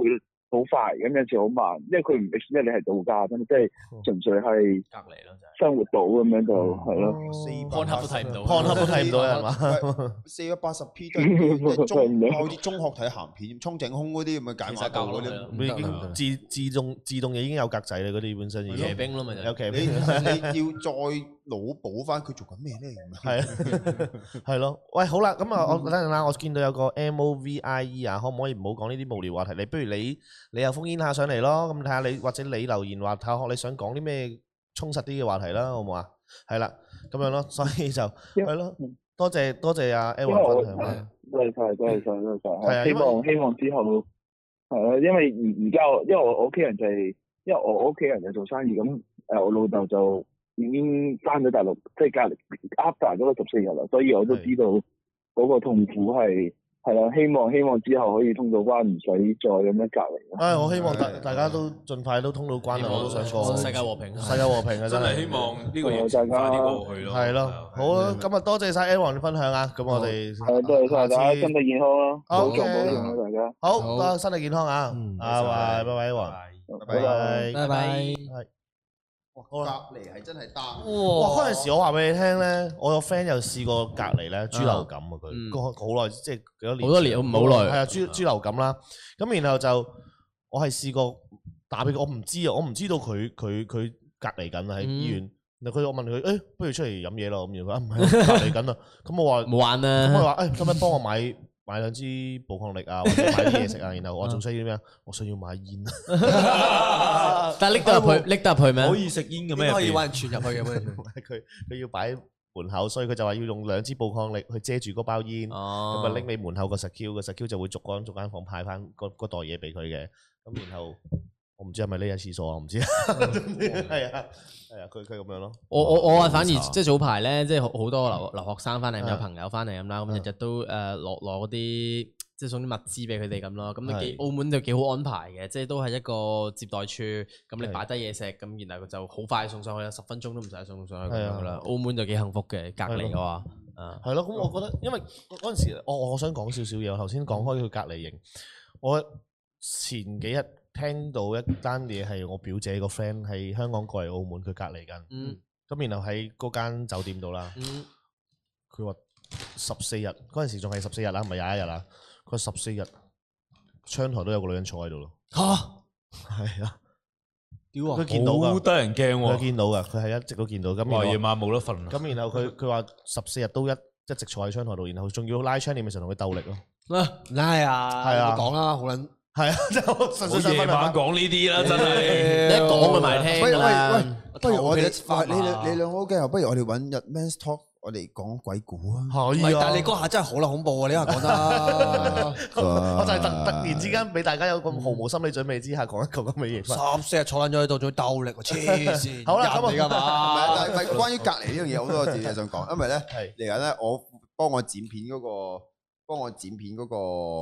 好快，咁有時好慢，因為佢唔 expect 你係度假，咁即係純粹係隔離咯， 生活到咁樣就係咯。 看黑都睇唔到， 看黑都睇唔到係嘛？ 四百八十 P 都係中，好似中學睇鹹片，沖整空嗰啲咁嘅解碼度嗰啲， 已經自自動自動已經有格仔啦，嗰啲本身已經騎兵咯咪就有騎兵， 你要再腦補翻佢做緊咩咧？ 係啊，係咯。喂，好啦，咁啊，我等陣啦，我見到有個 M O V I E 啊，可唔可以唔好講呢啲無聊話題？你不如你你又烽煙下上嚟咯，咁睇下你或者你留言話睇下你想講啲咩充實啲嘅話題啦，好唔好啊？係啦，咁樣咯，所以就係咯，多謝多謝阿 Aaron 分享啦， 多謝晒，多謝晒，多謝晒。 係啊， 希望希望之後係啊，因為而而家我因為我屋企人就係因為我屋企人就做生意，咁誒我老豆就已經翻咗大陸，即係隔離 after 嗰個十四日啦，所以我都知道嗰個痛苦係。係啦，希望希望之後可以通到關，唔使再咁樣隔離。 唉，我希望大大家都盡快都通到關啦，我都想過。 世界和平， 世界和平啊！ 真係希望呢個疫情快啲過去咯。係咯，好啦，今日多謝晒 Aaron 嘅分享啊！咁我哋係多謝晒大家，身體健康咯，保重保重啊！大家好，多身體健康啊！啊，拜拜，拜拜，Aaron，拜拜， 拜拜。 隔離係真係得。 哇！嗰陣時我話俾你聽咧，我有 friend 又試過隔離咧，豬流感啊佢，個好耐即係幾多年。 好多年，唔好耐。 係啊，豬豬流感啦。咁然後就我係試過打俾佢，我唔知啊，我唔知道佢佢佢隔離緊喺醫院。然後佢我問佢，誒，不如出嚟飲嘢咯咁。然後佢啊唔係，隔離緊啊。咁我話冇玩啊。 咁我話誒，可唔可以幫我買買兩支寶礦力啊，或者買啲嘢食啊？然後我仲需要咩啊？我需要買煙。 但係拎得入去，拎得入去咩？ 可以食煙嘅咩？ 可以揾人傳入去嘅咩？ 佢佢要擺門口，所以佢就話要用兩支寶礦力去遮住嗰包煙，咁啊拎你門口個 secure，個 secure就會逐間逐間房派翻嗰嗰袋嘢俾佢嘅。咁然後我唔知係咪匿喺廁所啊？我唔知，係啊係啊，佢佢咁樣咯。 我我我啊反而即係早排咧，即係好好多留留學生翻嚟，有朋友翻嚟咁啦，咁日日都誒攞攞嗰啲。即係送啲物資俾佢哋咁咯，咁都幾澳門就幾好安排嘅，即係都係一個接待處，咁你擺低嘢食，咁然後佢就好快送上去，十分鐘都唔使送上去咁樣噶啦。澳門就幾幸福嘅，隔離嘅話，啊係咯。咁我覺得，因為嗰陣時，我我想講少少嘢。我頭先講開佢隔離營，我前幾日聽到一單嘢係我表姐個 friend 喺香港過嚟澳門，佢隔離緊，咁然後喺嗰間酒店度啦，佢話十四日嗰陣時仲係十四日啦，唔係廿一日啦。佢十四日窗台都有個女人坐喺度咯。 吓， 係啊， 屌啊！ 佢見到㗎， 好得人驚喎。 佢見到㗎，佢係一直都見到。咁夜晚冇得瞓。 咁然後佢佢話十四日都一一直坐喺窗台度，然後仲要拉窗簾嘅時候同佢鬥力咯。 啊，拉啊， 係啊， 講啦，好撚係啊，即係我純粹夜晚講呢啲啦，真係你一講佢埋聽㗎啦。 不如我哋你你你兩個好驚，不如我哋揾日 Men's Talk。我哋講鬼故啊， 係啊！ 但係你嗰下真係好撚恐怖啊！你話講得， 我就係突突然之間俾大家有咁毫無心理準備之下講一個咁嘅嘢。 十四日坐撚咗喺度，仲要鬥力，黐線！ 好啦，咁嚟㗎嘛？ 唔係，但係關於隔離呢樣嘢，好多字嘢想講，因為咧嚟緊咧，我幫我剪片嗰個，幫我剪片嗰個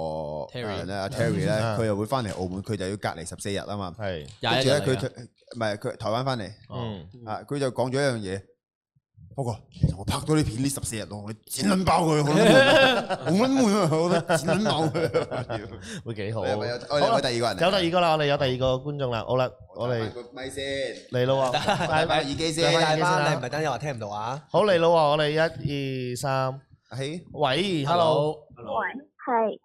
Terry 咧，阿 Terry 咧，佢又會翻嚟澳門，佢就要隔離十四日啊嘛。係，跟住咧佢唔係佢台灣翻嚟，啊佢就講咗一樣嘢。不過，其實我拍到呢片呢十四日咯，我剪撚爆佢，好撚悶啊！我覺得剪撚爆佢， 會幾好。 我哋有第二個人， 有第二個啦，我哋有第二個觀眾啦。好啦，我哋咪先嚟咯喎， 戴戴耳機先， 戴翻你唔係等陣話聽唔到啊！ 好嚟咯喎，我哋一二三， 嘿， 喂 ，hello， 喂，係。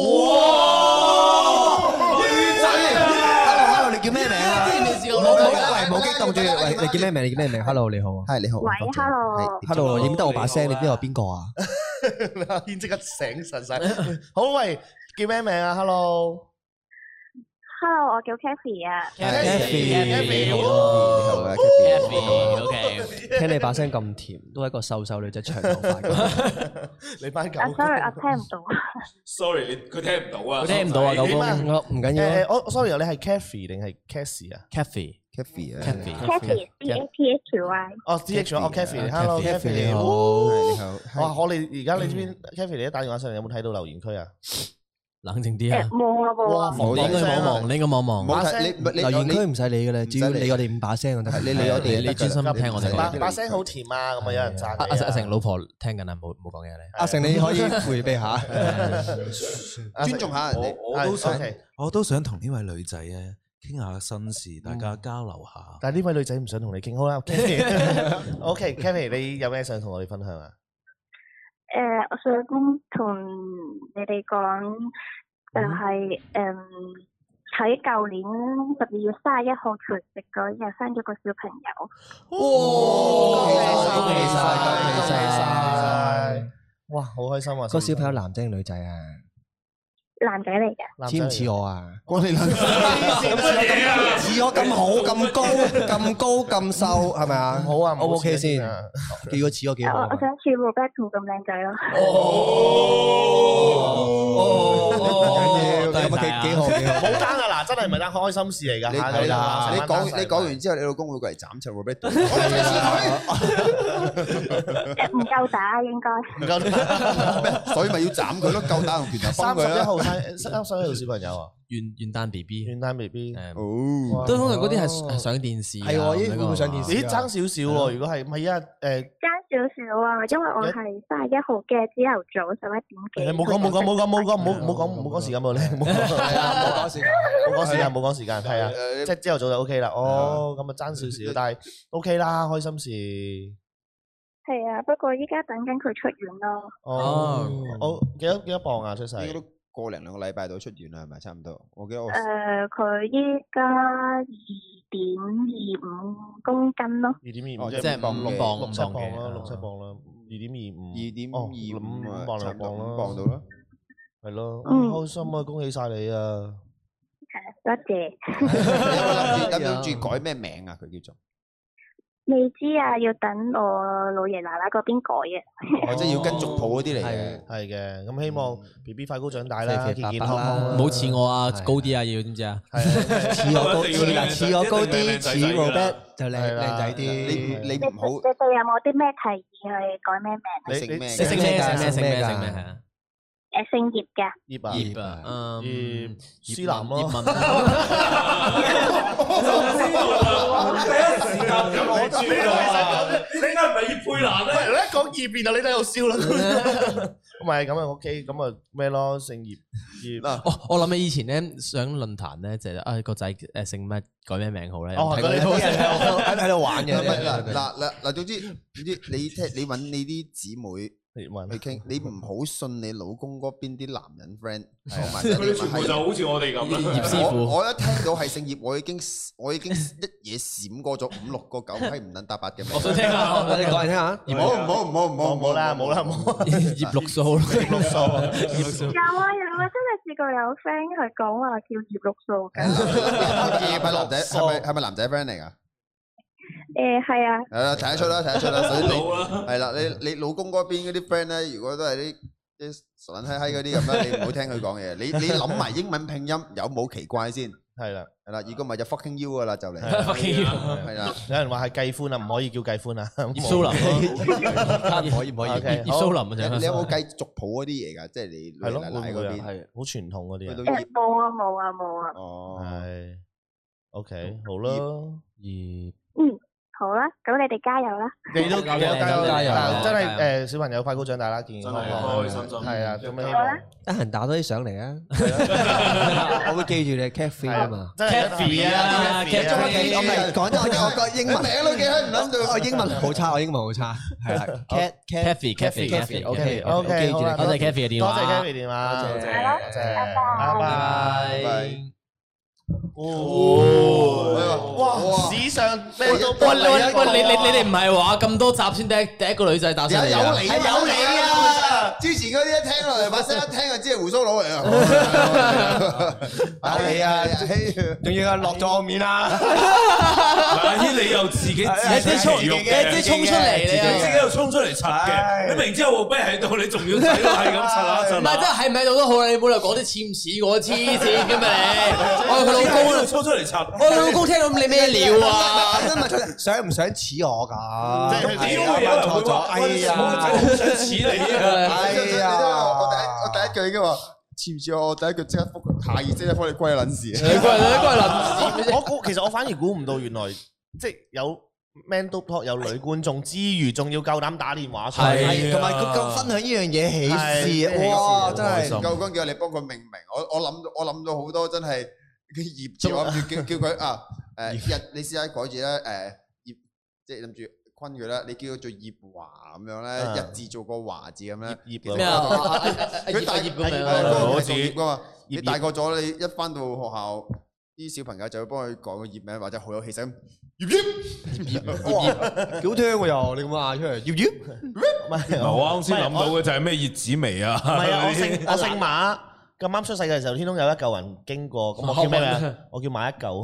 哇！女仔 ，hello，hello，你叫咩名啊？冇冇，喂，冇激動住，喂，你叫咩名？你叫咩名 ？Hello，你好啊。係你好。 喂 ，hello。 hello，認得我把聲？你知我邊個啊？ 阿軒即刻醒神晒。好，喂，叫咩名啊 ？Hello。 Hello，我叫 Kathy 啊。 Kathy，Kathy， 你好啊 ，Kathy，OK。 聽你把聲咁甜，都係一個瘦瘦女仔長頭髮。 你班狗。 啊 ，sorry，我聽唔到。 Sorry，佢聽唔到啊。 佢聽唔到啊，狗公。唔緊要。 我 sorry，你係 Kathy 定係 Cassie 啊 ？Kathy，Kathy 啊。 Kathy，C A T H Y。 哦 ，C H Y，哦 Kathy，Hello，Kathy 你好。你好。哇，我哋而家你知唔知 Kathy 你一打電話上嚟有冇睇到留言區啊？ 冷靜啲啊！ 冇啊冇啊！ 你應該望望，你應該望望。 冇睇你留言區唔使理嘅啦，只要理我哋五把聲就得。你理我哋， 你專心聽我哋。 把把聲好甜啊！咁啊有人讚。 阿阿成老婆聽緊啊，冇冇講嘢你。 阿成你可以迴避下， 尊重下人哋。 我都想，我都想同呢位女仔啊傾下心事，大家交流下。 但係呢位女仔唔想同你傾，好啦。OK，Kami，你有咩想同我哋分享啊？ 誒，我想同你哋講，就係誒喺舊年十二月三十一號除夕嗰日生咗個小朋友。 哇！恭喜晒，恭喜晒！ 哇，好開心啊！ 個小朋友男仔定女仔啊？ 男仔嚟嘅， 似唔似我啊？ 關你撚事！ 似我咁好、咁高、咁高、咁瘦，係咪啊？ 好啊 ，O 唔 OK 先？幾個似我幾好？ 我想似 Roberto 咁靚仔咯。 哦哦，咁啊幾幾好幾好。 冇單啊！嗱，真係唔係單開心事嚟㗎。 你你講你講完之後，你老公會過嚟斬出 Roberto。 唔夠打應該。 唔夠打， 所以咪要斬佢咯，夠打用拳頭幫佢啦。 三十一號生三十一號小朋友啊， 元元旦 B B， 元旦 B B， 哦， 都通常嗰啲係上電視， 係喎，依會唔會上電視？ 咦，爭少少喎，如果係唔係啊？誒， 爭少少啊，因為我係三十一號嘅朝頭早十一點幾。 冇講冇講冇講冇講冇冇講冇講時間喎，你冇講時間，冇講時間冇講時間，係啊，即係朝頭早就 OK 啦。哦，咁啊爭少少，但係 OK 啦，開心事。 係啊，不過依家等緊佢出院咯。 哦，好幾多幾多磅啊？出世？ 應該都個零兩個禮拜到出院啦，係咪差唔多？我記得我誒，佢依家二點二五公斤咯。 二點二五即係五六磅六七磅啦，六七磅啦，二點二五。 二點二五五磅兩磅啦， 五磅到啦。 係咯，開心啊！恭喜晒你啊！ 多謝。 諗住諗住改咩名啊？佢叫做？ 未知啊，要等我老爺奶奶嗰邊改嘅。 哦，即係要跟族譜嗰啲嚟嘅， 係嘅。咁希望 B B 快高長大啦，健健康康。 唔好似我啊，高啲啊，要知唔知啊？ 似我高啲，似我高啲，似 Robert 就靚靚仔啲。 你你唔好。 你哋有冇啲咩提議去改咩名？ 你姓咩？ 姓咩？姓咩？姓咩？姓咩？係啊。 誒，姓葉嘅。 葉啊。 葉啊。嗯。 葉思南咯。 葉問。 第一時間我知啦，你點解唔係葉佩蘭咧？ 你一講葉邊啊，你都喺度笑啦。唔係咁啊 ，OK，咁啊咩咯？姓葉葉。 哦，我諗起以前咧上論壇咧，就係啊個仔誒姓咩改咩名好咧？ 哦，嗰啲喺喺度玩嘅。 嗱嗱嗱嗱，總之總之你聽你揾你啲姊妹。去傾，你唔好信你老公嗰邊啲男人 friend， 佢哋全部就好似我哋咁。 葉師傅， 我一聽到係姓葉，我已經我已經一嘢閃過咗五六個九批唔撚搭八嘅名。 我想聽下， 你講嚟聽下。 唔好唔好唔好唔好冇啦冇啦冇。 葉綠素，葉綠素， 葉綠素。有啊有啊，真係試過有 friend 係講話叫葉綠素㗎。 葉係男仔，係咪係咪男仔 friend 嚟㗎？ 誒係啊， 係啦，睇得出啦，睇得出啦。所以你係啦，你你老公嗰邊嗰啲 friend 咧，如果都係啲啲傻撚閪閪嗰啲咁啦，你唔好聽佢講嘢。你你諗埋英文拼音有冇奇怪先？ 係啦， 係啦，如果唔係就 fucking you 噶啦，就嚟。 fucking you 係啦， 有人話係計歡啊，唔可以叫計歡啊。 葉蘇林， 唔可以唔可以。 葉蘇林啊， 你有冇計族譜嗰啲嘢㗎？即係你奶奶嗰邊係好傳統嗰啲啊。 誒冇啊冇啊冇啊。 哦， 係。OK，好啦，葉。 嗯。好啦，咁你哋加油啦！ 你都加油加油加油！真係誒，小朋友快高長大啦，健健康康，開心心。係啊，咁樣希望。 得閒打多啲上嚟啊！我會記住你 Cathy 啊嘛 ，Cathy 啊 ，Cathy，我唔係講咗我個英文名都記唔諗到，我英文好差，我英文好差，係啦 ，Cathy，Cathy，Cathy，OK， 記住啦， 多謝 Cathy 嘅電話， 多謝 Cathy 電話，多謝，多謝，拜拜。哦，哇！史上咩都喂喂喂，你你你哋唔係話咁多集先第一第一個女仔打上嚟有你有你啊！之前嗰啲一聽落嚟把聲一聽就知係鬍鬚佬嚟啊！有你啊！ 仲要係落咗我面啊！ 阿軒你又自己自己衝嘅，自己衝出嚟， 你自己又衝出嚟插嘅，你明知我啤喺度，你仲要睇到係咁插下插。 唔係，真係喺唔喺度都好啦，你冇理由講啲似唔似我黐線嘅嘛你？我係佢老公啊， 衝出嚟插。 我老公聽到你咩料啊？ 真係想唔想似我㗎？ 即係點會有人會話？哎呀，好想似你啊！ 哎呀，我第一我第一句已經話。 似唔似我第一句即刻覆下意識咧，幫你歸撚事。 你歸你歸撚事。 我估其實我反而估唔到，原來即係有 Man Talk 有女觀眾之餘，仲要夠膽打電話出嚟， 同埋佢夠分享呢樣嘢喜事，哇！真係夠講叫你幫佢命名。我我諗我諗到好多真係佢葉字，我諗住叫叫佢啊誒日，你試下改字咧誒葉，即係諗住。坤佢啦，你叫佢做葉華咁樣咧，日字做個華字咁咧。葉咩啊？ 佢大葉咁樣， 嗰個係葉噶嘛。你大個咗，你一翻到學校，啲小朋友就會幫佢改個葉名，或者好有氣勢咁。葉葉葉葉， 幾好聽喎又，你咁嗌出嚟，葉葉。 唔係我啱先諗到嘅就係咩葉子薇啊？ 唔係啊，我姓我姓馬。咁啱出世嘅時候，天空有一嚿人經過，咁我叫咩名？我叫馬一嚿。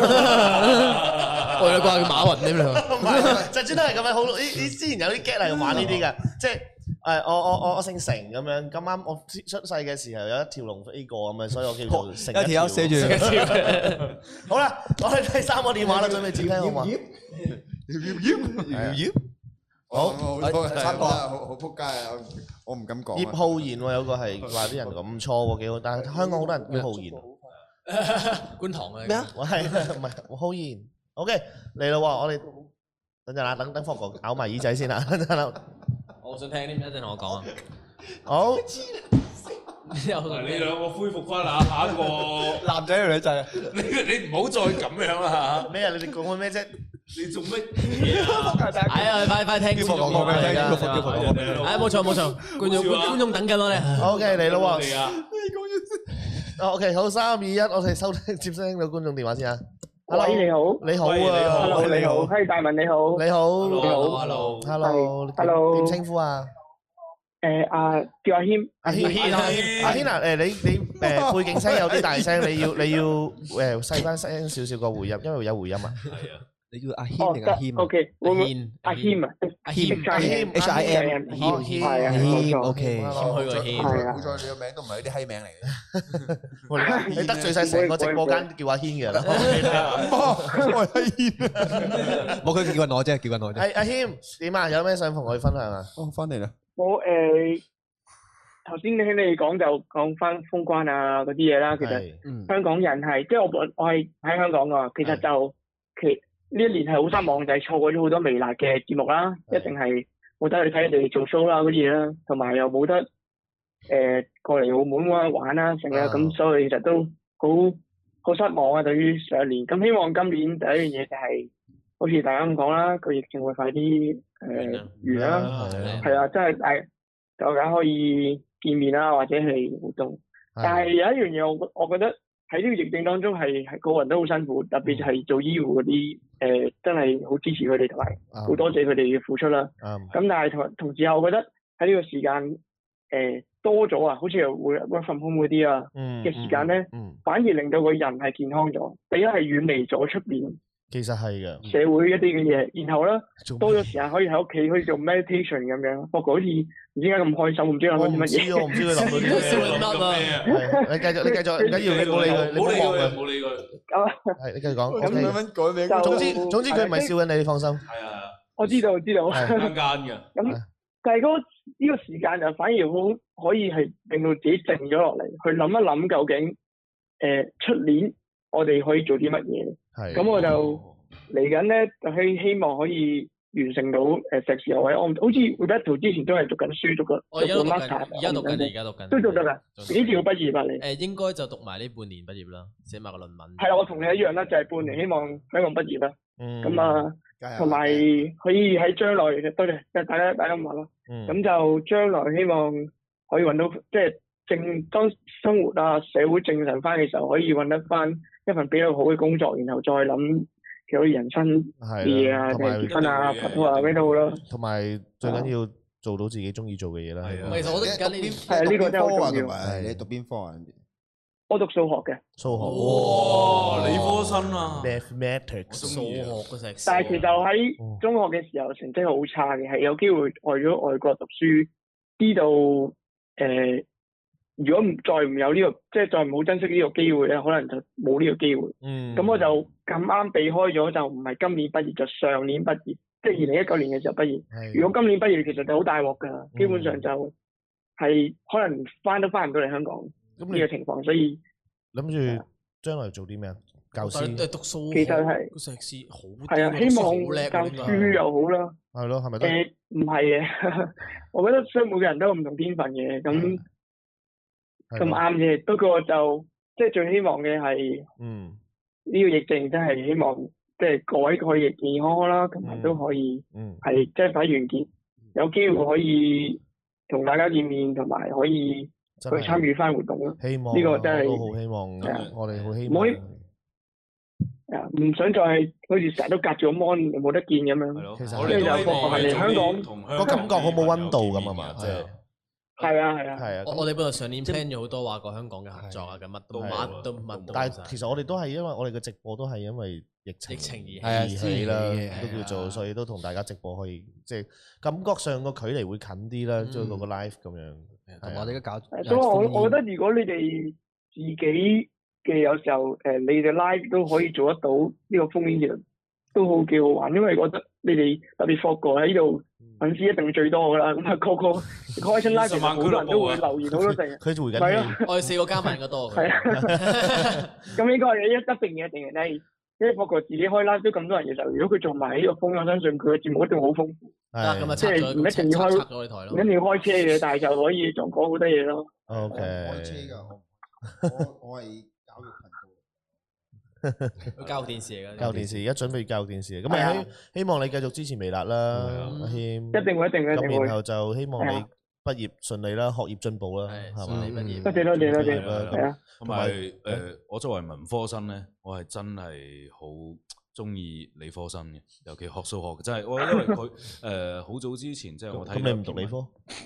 我有掛叫馬雲添啦。 就專登係咁樣，好呢呢之前有啲 get 係玩呢啲嘅，即係誒我我我我姓成咁樣，咁啱我出世嘅時候有一條龍飛過咁樣，所以我叫做成一條。 一條寫住。 好啦，我哋第三個電話啦，準備接聽好嘛？ 好，差唔多啦，好好撲街啊！我唔敢講。 葉浩然喎，有個係話啲人咁錯喎，幾好，但係香港好多人叫浩然。 觀塘嘅咩啊？ 我係唔係浩然 ？OK 嚟啦喎，我哋等陣啦，等等霍哥咬埋耳仔先啦，等陣啦。 我想聽啲咩？一陣同我講啊。 好。 你兩個恢復翻啦，下一個男仔定女仔啊？ 你你唔好再咁樣啦嚇！ 咩啊？你哋講緊咩啫？ 你做乜嘢啊？ 哎呀，快快聽觀眾講咩嚟㗎？哎，冇錯冇錯，觀眾觀眾等緊我哋。 OK 嚟咯喎！哦 OK 好，三二一，我哋收聽接聽到觀眾電話先啊。 喂，你好。 你好啊。 Hello，你好。係大文你好。 你好。 你好。 Hello。Hello。Hello。點稱呼啊？ 誒阿叫阿軒。 阿軒阿軒啊！誒你你誒背景聲有啲大聲，你要你要誒細翻聲少少個回音，因為有回音啊。係啊。你叫阿軒定阿軒啊 ？O K，阿軒，阿軒啊， 阿軒，阿軒 ，H I M， 軒， 係啊，冇錯 ，O K， 謙虛個軒， 係啊， 好在你個名都唔係啲閪名嚟嘅， 你得罪晒成個直播間叫阿軒嘅啦。 我係軒，冇佢叫緊我啫，叫緊我啫。 係阿軒點啊？有咩想同我哋分享啊？ 哦，翻嚟啦。 我誒頭先聽你哋講就講翻封關啊嗰啲嘢啦，其實香港人係即係我我係喺香港㗎，其實就其。呢一年係好失望，就係錯過咗好多微辣嘅節目啦，一定係冇得去睇你哋做 show 啦嗰啲嘢啦，同埋又冇得誒、呃、過嚟澳門啊玩啦成啊，咁所以其實都好好失望啊對於上年。咁希望今年第一樣嘢就係、是、好似大家咁講啦，個疫情會快啲誒、呃、完啦，係啊，真係大大家可以見面啦，或者係活動。但係有一樣嘢我我覺得。喺呢個疫症當中係係個人都好辛苦，特別係做醫護嗰啲誒，真係好支持佢哋同埋好多謝佢哋嘅付出啦。咁、嗯、但係同同時我覺得喺呢個時間誒、呃、多咗啊，好似又會 work from home嗰啲啊嘅時間咧，嗯嗯、反而令到個人係健康咗。第一係遠離咗出邊。其實係嘅，社會一啲嘅嘢，然後咧多咗時間可以喺屋企可以做 meditation 咁樣，不過好似唔知點解咁開心，唔知諗緊啲乜嘢。我唔知佢諗到啲咩。你繼續，你繼續，唔緊要，你冇理佢，你冇望佢，冇理佢。係，你繼續講。咁樣改名。總之總之佢唔係笑緊你，你放心。係啊。我知道，知道。間間嘅。咁但係嗰呢個時間就反而好可以係令到自己靜咗落嚟，去諗一諗究竟誒出年我哋可以做啲乜嘢。係，咁我就嚟緊咧，就希希望可以完成到誒碩士學位。我好似 Roberto 之前都係讀緊書，讀緊讀緊 master，而家讀緊，而家讀緊，都讀得㗎。幾時要畢業啊？你誒應該就讀埋呢半年畢業啦，寫埋個論文。係啦，我同你一樣啦，就係半年，希望香港畢業啦。嗯，咁啊，同埋可以喺將來，多謝大家大家咁話咯。嗯，咁就將來希望可以揾到即係正當生活啊社會正常翻嘅時候，可以揾得翻一份比較好嘅工作，然後再諗其他人生嘢啊，定係結婚啊、拍拖啊咩都好啦。同埋最緊要做到自己中意做嘅嘢啦。係啊，其實我都而家呢啲係呢個真係好重要。係你讀邊科啊？我讀數學嘅。數學。哇！理科生啊 ！Mathematics。數學嗰隻。但係其實喺中學嘅時候成績好差嘅，係有機會外咗外國讀書，知道誒。如果唔再唔有呢、這個，即係再唔好珍惜呢個機會咧，可能就冇呢個機會。嗯。咁我就咁啱避開咗，就唔係今年畢業，就上年畢業，即係二零一九年嘅時候畢業。係。如果今年畢業，其實就好大鑊㗎，基本上就係可能翻都翻唔到嚟香港。 呢個情況，所以諗住將來做啲咩啊？教師都係讀數， 其實係個碩士好係啊，希望教書又好啦。 係咯，係咪都？ 誒唔係嘅，我覺得所以每個人都有唔同天分嘅，咁咁啱嘅。不過就即係最希望嘅係，嗯，呢個疫症真係希望即係各位可以健健康康啦，同埋都可以係即係快完結，有機會可以同大家見面，同埋可以去參與翻活動咯。 希望呢個真係都好希望，我哋好希望。 唔想再係好似成日都隔住個 mon 冇得見咁樣， 其實我哋就嚟香港個感覺好冇溫度咁啊嘛，即係係啊係啊係啊。 我我哋本來上年 plan 咗好多話過香港嘅合作啊，咁乜都乜都乜都。 但係其實我哋都係因為我哋嘅直播都係因為疫情疫情而起啦，都叫做所以都同大家直播可以即係感覺上個距離會近啲啦，做到個 live 咁樣。 同我哋嘅搞， 所以我我覺得如果你哋自己嘅有時候誒，你哋 live 都可以做得到呢個封面，其實都好幾好玩，因為覺得你哋特別霍哥喺呢度粉絲一定最多噶啦，咁啊個個開親 live 其實好多人都會留言好多成， 佢就回緊， 係咯， 我哋四個加埋個多， 係啊，咁應該係一一定嘅，一定嘅，係因為霍哥自己開 live 都咁多人嘅時候，如果佢做埋呢個封，我相信佢嘅節目一定好豐富， 係， 即係唔一定要開，唔一定要開車嘅，但係就可以仲講好多嘢咯。 OK， 開車㗎，我我係。 教育電視嚟㗎， 教育電視而家準備教育電視，咁咪希希望你繼續支持微辣啦，阿謙。 一定會，一定會，一定會。 咁然後就希望你畢業順利啦，學業進步啦，係嘛？ 畢業。 多謝多謝多謝。係啊。 同埋誒，我作為文科生咧，我係真係好中意理科生嘅，尤其學數學嘅，真係我因為佢誒好早之前即係我睇。 咁你唔讀理科？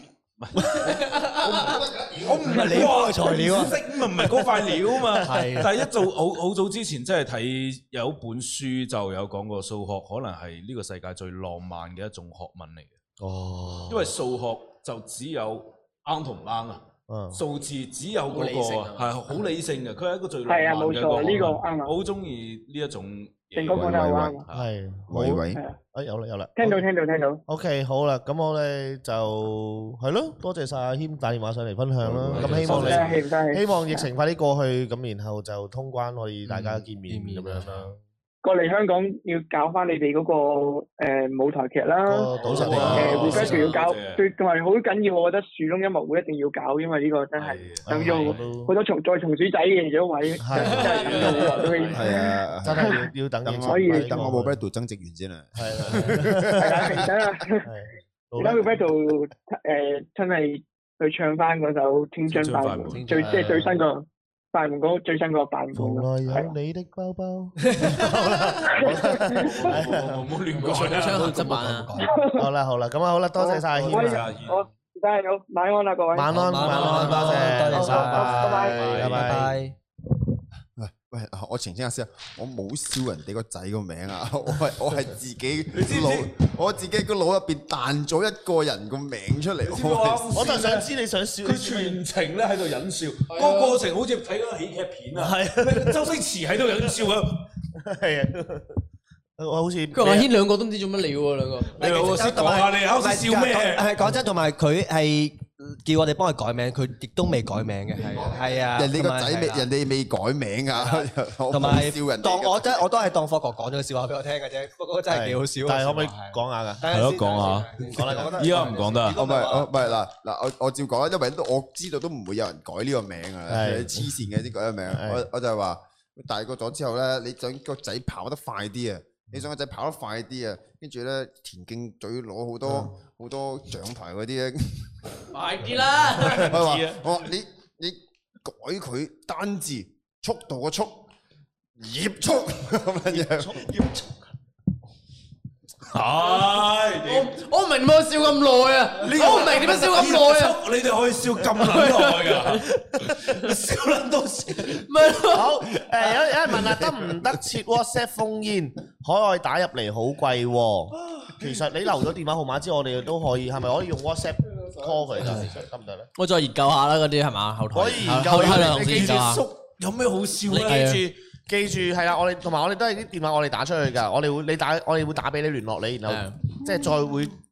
我唔係理科嘅材料啊，識咪唔係嗰塊料啊嘛。係，但係一早好好早之前，即係睇有一本書就有講過數學可能係呢個世界最浪漫嘅一種學問嚟嘅。哦，因為數學就只有啱同唔啱啊，數字只有嗰個係好理性嘅，佢係一個最浪漫嘅一個學問。係啊，冇錯，呢個啱。我好中意呢一種。 正哥講得好啱， 係， 喂喂， 哎有啦有啦， 聽到聽到聽到。 OK 好啦，咁我哋就係咯，多謝晒阿謙打電話上嚟分享啦。咁希望你希望疫情快啲過去，咁然後就通關可以大家見面咁樣啦。 過嚟香港要搞翻你哋嗰個誒舞台劇啦， 賭神嚟誒 rehearsal 要搞，最同埋好緊要，我覺得樹窿音樂會一定要搞，因為呢個真係等咗好多松再松鼠仔嘅咗位，真係等咗好耐都已經。 係啊， 真係要要等等， 所以等我冇 Roberto 增值完先啊。 係啦， 係啦，等啊，而家 Roberto 誒真係去唱翻嗰首《青春快門》，最即係最新個。快門嗰最新個版本， 從來有你的包包。 好啦，唔好亂講啦， 唱合輯版啊！ 好啦好啦，咁啊好啦，多謝晒阿謙啊！ 好，唔該，好，晚安啦各位。 晚安晚安，多謝多謝晒， 拜拜拜拜。 喂喂，我澄清下先，我冇笑人哋個仔個名啊，我係我係自己腦，我自己個腦入邊彈咗一個人個名出嚟。 我就想知你想笑， 佢全程咧喺度忍笑，個過程好似睇嗰個喜劇片啊。係，周星馳喺度忍笑啊。係啊， 我好似佢阿軒兩個都唔知做乜料喎，兩個。 你老師講下你啱先笑咩？ 係講真，同埋佢係。叫我哋幫佢改名，佢亦都未改名嘅，係係啊。 人哋個仔未，人哋未改名啊。 同埋當我真，我都係當霍哥講咗個笑話俾我聽嘅啫。不過真係幾好笑。 但係可唔可以講下㗎？ 係咯，講下。講啦，講得。依家唔講得。 我唔係，我唔係嗱嗱，我我照講啦，因為都我知道都唔會有人改呢個名啊，黐線嘅先改個名。我我就係話大個咗之後咧，你想個仔跑得快啲啊！你想個仔跑得快啲啊，跟住咧田徑隊攞好多好多獎牌嗰啲咧， 快啲啦！ 我話我話你你改佢單字速度個速，葉速咁樣樣，葉速。 係， 我我唔明點解笑咁耐啊！我唔明點解笑咁耐啊！ 你哋可以笑咁撚耐㗎，笑撚到笑。 咪好誒，有有人問啊，得唔得切 WhatsApp 封煙？海外打入嚟好貴喎。其實你留咗電話號碼之後，我哋都可以，係咪可以用 WhatsApp call 佢㗎？得唔得咧？ 我再研究下啦，嗰啲係嘛？後台可以研究下。你記住叔有咩好笑咧？ 你記住。記住係啦，我哋同埋我哋都係啲電話，我哋打出去㗎。我哋會你打，我哋會打俾你聯絡你，然後即係再會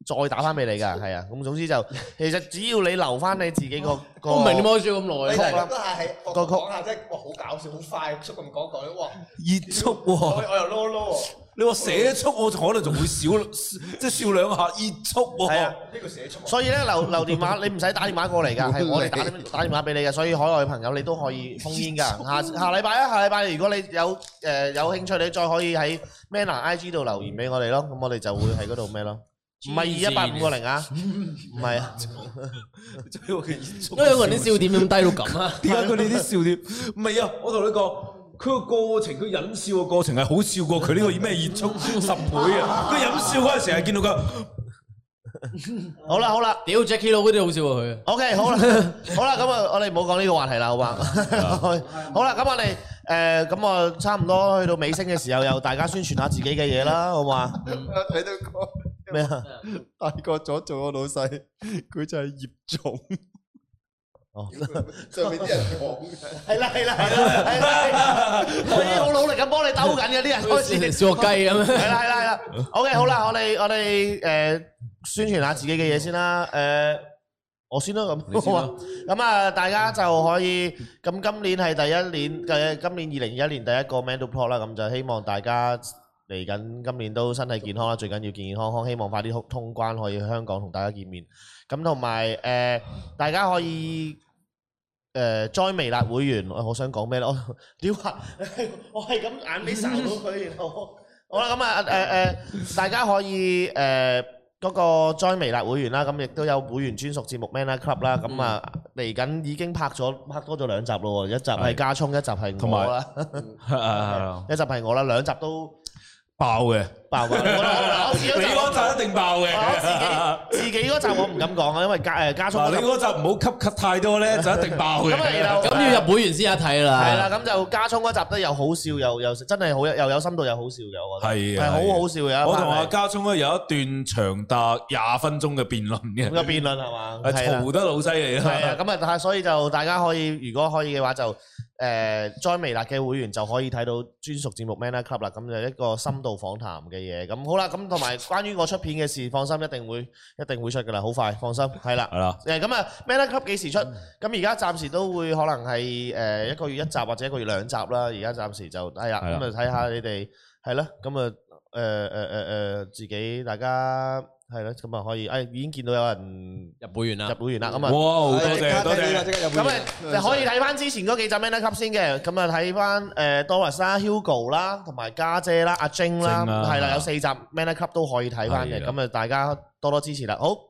再打翻俾你㗎，係啊。咁總之就其實只要你留翻你自己個個， 我唔明點解開咗咁耐。 你係都係我講下啫，哇好搞笑，好快速咁講講，哇熱速喎！ 我又撈撈喎。 你話寫速我可能仲會笑，即係笑兩下熱速喎。 係啊， 呢個寫速。 所以咧留留電話，你唔使打電話過嚟㗎，係我哋打打電話俾你嘅。所以海外嘅朋友你都可以封煙㗎。下下禮拜啊，下禮拜如果你有誒有興趣，你再可以喺 Manner I G 度留言俾我哋咯。咁我哋就會喺嗰度咩咯？唔係二一八五個零啊，唔係啊。 因為兩個人啲笑點咁低到咁啊？ 點解佢哋啲笑點？唔係啊，我同你講。佢個過程，佢忍笑嘅過程係好笑過佢呢個咩熱速十倍啊！佢忍笑嗰陣時係見到佢， 好啦好啦， 屌 Jackie Lou 嗰啲好笑過佢。 OK 好啦好啦，咁啊我哋唔好講呢個話題啦，好嘛？好啦，咁我哋誒咁啊差唔多去到尾聲嘅時候，又大家宣傳下自己嘅嘢啦，好嘛？ 我睇到個咩啊？ 大個咗做我老細，佢就係葉總。 哦， 上面啲人講係啦係啦係啦係啦，我已經好努力咁幫你兜緊嘅啲人開始小學雞咁樣。 係啦係啦係啦 ，OK 好啦，我哋我哋誒宣傳下自己嘅嘢先啦，誒我先啦咁，好啊，咁啊大家就可以咁今年係第一年嘅今年二零二一年第一個 Man to Plot 啦，咁就希望大家嚟緊今年都身體健康啦，最緊要健健康康，希望快啲通關可以去香港同大家見面，咁同埋誒大家可以。誒 join 微辣會員，我想講咩咧？我屌啊！我係咁眼尾睄到佢，然後好啦，咁啊誒誒，大家可以誒嗰個 join 微辣會員啦，咁亦都有會員專屬節目 Manner Club 啦，咁啊嚟緊已經拍咗拍多咗兩集咯喎，一集係家聰，一集係我啦，一集係我啦，兩集都爆嘅。爆嘅， 你嗰集一定爆嘅。 自己自己嗰集我唔敢講啊，因為加誒加速。 你嗰集唔好吸吸太多咧，就一定爆嘅。 咁要入會員先有睇啦。 係啦，咁就加聰嗰集都又好笑又又真係好又有深度又好笑嘅，我覺得係係好好笑嘅。 我同阿加聰咧有一段長達廿分鐘嘅辯論嘅。 咁嘅辯論係嘛？ 係嘈得好犀利啦。 係啊，咁啊，所以就大家可以如果可以嘅話就誒 join 微辣嘅會員就可以睇到專屬節目 Manner Club 啦，咁就一個深度訪談嘅嘢。咁好啦，咁同埋關於我出片嘅事，放心一定會一定會出㗎啦，好快，放心，係啦。係啦。誒咁啊 Manner Club 幾時出？咁而家暫時都會可能係誒一個月一集或者一個月兩集啦。而家暫時就係啦，咁啊睇下你哋係啦，咁啊誒誒誒誒自己大家。係咯，咁啊可以，誒已經見到有人入會員啦，入會員啦，咁啊， 哇，多謝多謝， 咁啊，你可以睇翻之前嗰幾集 Manner Club 先嘅，咁啊睇翻誒 Doris 啦、Hugo 啦，同埋家姐啦、阿晶啦，係啦，有四集 Manner Club 都可以睇翻嘅，咁啊大家多多支持啦。好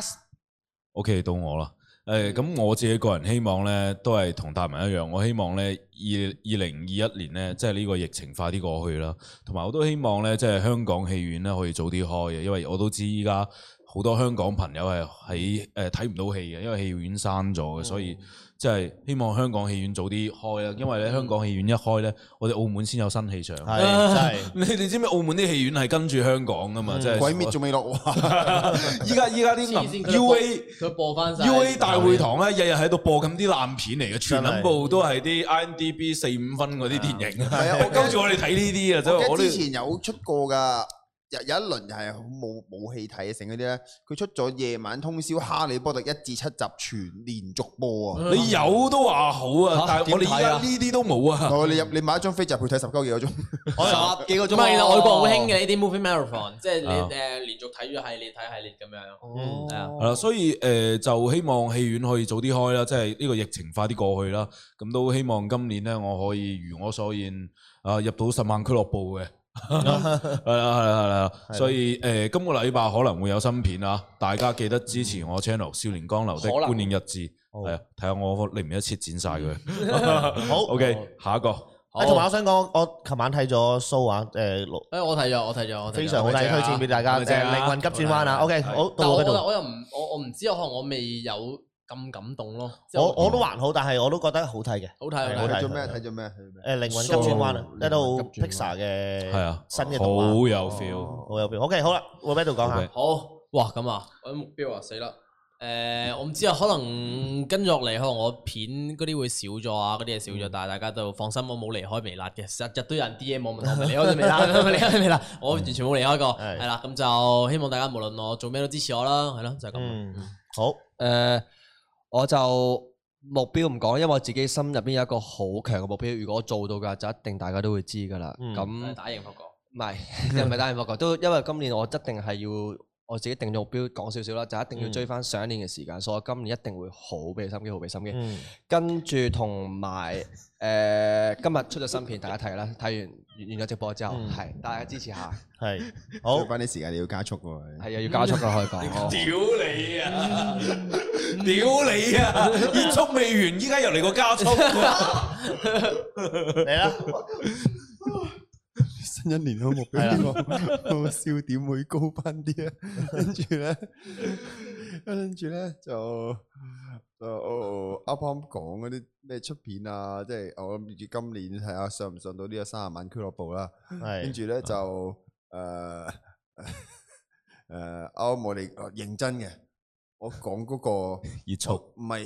，pass。OK， 到我啦。誒咁我自己個人希望咧，都係同大文一樣，我希望咧二二零二一年咧，即係呢個疫情快啲過去啦。同埋我都希望咧，即係香港戲院咧可以早啲開嘅，因為我都知依家好多香港朋友係喺誒睇唔到戲嘅，因為戲院閂咗嘅，所以即係希望香港戲院早啲開啦。因為咧香港戲院一開咧，我哋澳門先有新戲上。係真係，你你知唔知澳門啲戲院係跟住香港噶嘛？即係鬼滅仲未落畫。依家依家啲 U A 佢播翻晒 U A 大會堂咧，日日喺度播緊啲爛片嚟嘅，全撚部都係啲 I M D B 四五分嗰啲電影。係啊，我跟住我哋睇呢啲啊，真係我之前有出過㗎。有有一輪係冇冇戲睇成嗰啲咧，佢出咗夜晚通宵《哈利波特》一至七集全連續播啊！ 你有都話好啊，但係我哋而家呢啲都冇啊！ 你入你買一張飛就去睇十九幾個鐘， 十幾個鐘。唔係，其實外國好興嘅呢啲 movie marathon，即係你誒連續睇咗系列睇系列咁樣。 哦，係啊，係啦，所以誒就希望戲院可以早啲開啦，即係呢個疫情快啲過去啦。咁都希望今年咧，我可以如我所願啊，入到十萬俱樂部嘅。係啦係啦係啦，所以誒、呃、今個禮拜可能會有新片啊，大家記得支持我 channel《少年江流的觀影日誌》，係啊，睇下我嚟唔嚟一切剪晒佢。好 ，OK， 下一個。 誒，同埋我想講，我琴晚睇咗 show 啊，誒， 誒，我睇咗，我睇咗，我非常好睇，推薦俾大家。誒，靈魂急轉彎啊 ，OK，好，到我嗰度。 我又唔，我我唔知，可能我未有咁感動咯。 我我都還好，但係我都覺得好睇嘅。 好睇， 好睇。睇咗咩？睇咗咩？ 誒，靈魂急轉彎啊，一套 Pixar 嘅係啊， 新嘅動畫， 好有 feel， 好有 feel。OK，好啦，我喺度講下。 好，哇，咁啊，我目標啊，死啦！ 誒，我唔知啊，可能跟住落嚟，可能我片嗰啲會少咗啊，嗰啲嘢少咗，但係大家都放心，我冇離開微辣嘅，日日都有人 D M 我問我咪離開咗微辣，離開咗微辣，我完全冇離開過，係啦，咁就希望大家無論我做咩都支持我啦，係咯，就係咁。 好， 誒，我就目標唔講，因為我自己心入邊有一個好強嘅目標，如果我做到嘅就一定大家都會知噶啦。咁打贏霍哥， 唔係又唔係打贏霍哥，都因為今年我一定係要。我自己定咗目標，講少少啦，就一定要追翻上一年嘅時間，嗯、所以我今年一定會好俾心機，好俾心機。嗯、跟住同埋誒，今日出咗新片，大家睇啦，睇完完咗直播之後，係、嗯、大家支持下。係， 好，追翻啲時間你要加速喎。係啊，要加速啦，可以講。 屌你啊！屌你啊！結束未完，依家又嚟個加速。 嚟啦！ 新一年嘅目標，我笑點會高翻啲啊！跟住咧，跟住咧就就啱啱講嗰啲咩出片啊，即係我諗住今年睇下上唔上到呢個三十萬俱樂部啦。係，跟住咧就誒誒啱我哋認真嘅。我講嗰個熱速唔係，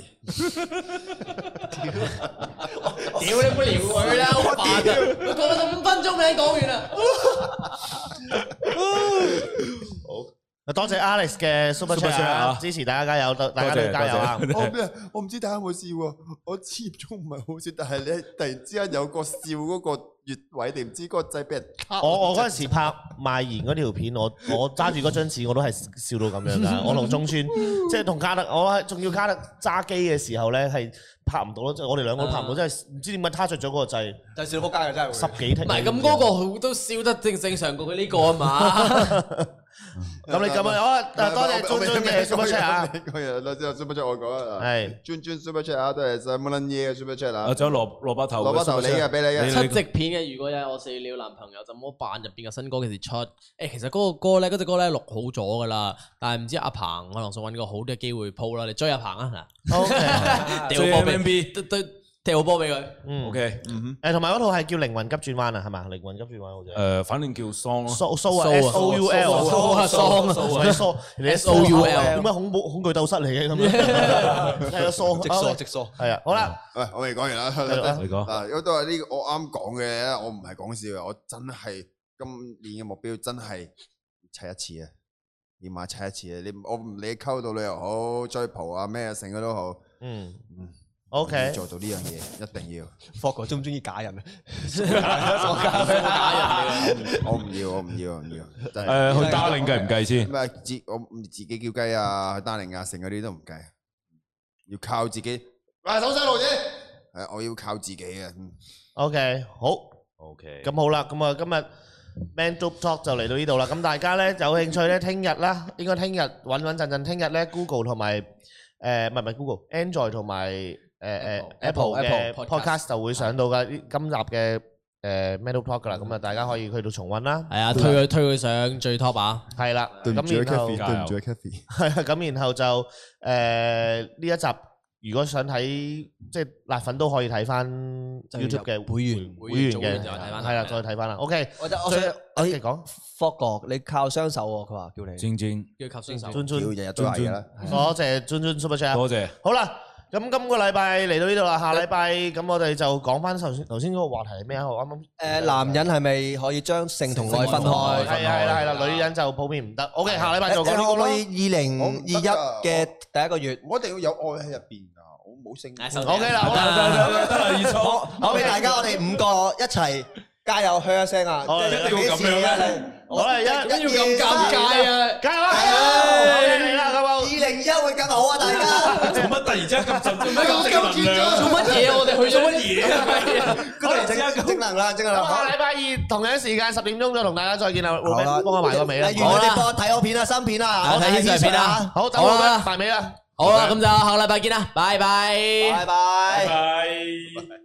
屌你唔好撩佢啦，好煩啊！佢講咗五分鐘你講完啦。 好，多謝 Alex 嘅 Super Chat 支持大家加油，大家都加油啊！ 我我唔知大家有冇笑喎，我始終唔係好笑，但係你突然之間有個笑嗰個穴位定唔知嗰個掣俾人卡。我我嗰陣時拍賣鹽嗰條片，我我揸住嗰張紙我都係笑到咁樣噶。我同中村即係同卡特，我仲要卡特揸機嘅時候咧係拍唔到咯，即係我哋兩個都拍唔到，真係唔知點解他着咗嗰個掣。 就笑到仆街嘅真係。 十幾聽。 唔係咁嗰個都笑得正正常過佢呢個啊嘛。咁你咁樣好啊！多謝尊尊嘅 Super Chat 啊！ 嗰日多謝 Super Chat 我講啊， 係尊尊 Super Chat 啊，都係晒冇撚嘢嘅 Super Chat 啊！ 仲有蘿蘿蔔頭， 蘿蔔頭你嘅俾你嘅七夕片嘅，如果有我死了男朋友，怎麼辦入邊嘅新歌幾時出？誒，其實嗰個歌咧，嗰隻歌咧錄好咗噶啦，但係唔知阿鵬可能想揾個好啲嘅機會鋪啦，你追阿鵬啊嗱 ，OK， 掉波俾對對。踢好波俾佢， 嗯 ，OK，嗯誒，同埋嗰套係叫靈魂急轉彎啊，係嘛？靈魂急轉彎好似， 誒，反正叫 Song 咯 ，So So 啊，S O U L 啊，Song 啊，Song，你 S O U L，點解恐怖恐懼鬥室嚟嘅咁樣？係啊，Song， 直疏直疏， 係啊，好啦， 喂，我未講完啦， 你講， 嗱，如果都係呢個我啱講嘅咧，我唔係講笑嘅，我真係今年嘅目標真係砌一次啊，要買砌一次啊，你我唔理溝到你又好，追蒲啊咩成嘅都好，嗯嗯。O K， 做到呢樣嘢一定要。 霍哥中唔中意假人啊？ 我唔要，我唔要，我唔要。 誒，去 Darling 計唔計先？ 咩自我自己叫雞啊，去 Darling 啊，成嗰啲都唔計，要靠自己。喂，手勢路子。係，我要靠自己嘅。 O K， 好。O K。咁好啦，咁啊，今日 Man Dope Talk 就嚟到呢度啦。咁大家咧有興趣咧，聽日啦，應該聽日穩穩陣陣，聽日咧 Google 同埋誒唔係唔係 Google，Android 同埋。誒誒 Apple 嘅 podcast 就會上到嘅今集嘅誒 Man Dope Talk 噶啦，咁啊大家可以去到重溫啦。係啊，推佢推佢上最 top 啊。係啦，咁然後對唔住 Kathy，係啊，咁然後就誒呢一集如果想睇即係辣粉都可以睇翻 YouTube 嘅會員會員嘅，係啦，再睇翻啦。OK，我就我想我哋講霍哥，你靠雙手喎，佢話叫你。尊尊叫靠雙手，尊尊日日都係啦。多謝尊尊 Super Chat，多謝。好啦。咁今個禮拜嚟到呢度啦，下禮拜咁我哋就講翻頭先頭先嗰個話題係咩啊？我啱啱誒男人係咪可以將性同愛分開？ 係係啦係啦，女人就普遍唔得。OK，下禮拜就講呢個咯。 可以二零二一嘅第一個月， 我一定要有愛喺入邊㗎，我冇性。 OK 啦，好啦，得啦得啦，二錯。 好，俾大家我哋五個一齊加油，噓一聲啊！ 一定要咁樣嘅。好啦，一一要咁尷尬啊！ 加油啊！嚟啦，咁啊！ 二零二一會更好啊！大家做乜突然之間咁震？做乜咁正能量？做乜嘢？我哋去咗乜嘢啊？ 突然之間正能量，正能量。 下禮拜二同樣時間十點鐘再同大家再見啦。好啦，幫我埋個尾啦。 好啦，播睇好片啦，新片啦，我睇現場片啦。 好，等我啦，埋尾啦。 好啦，咁就下禮拜見啦，拜拜， 拜拜， 拜。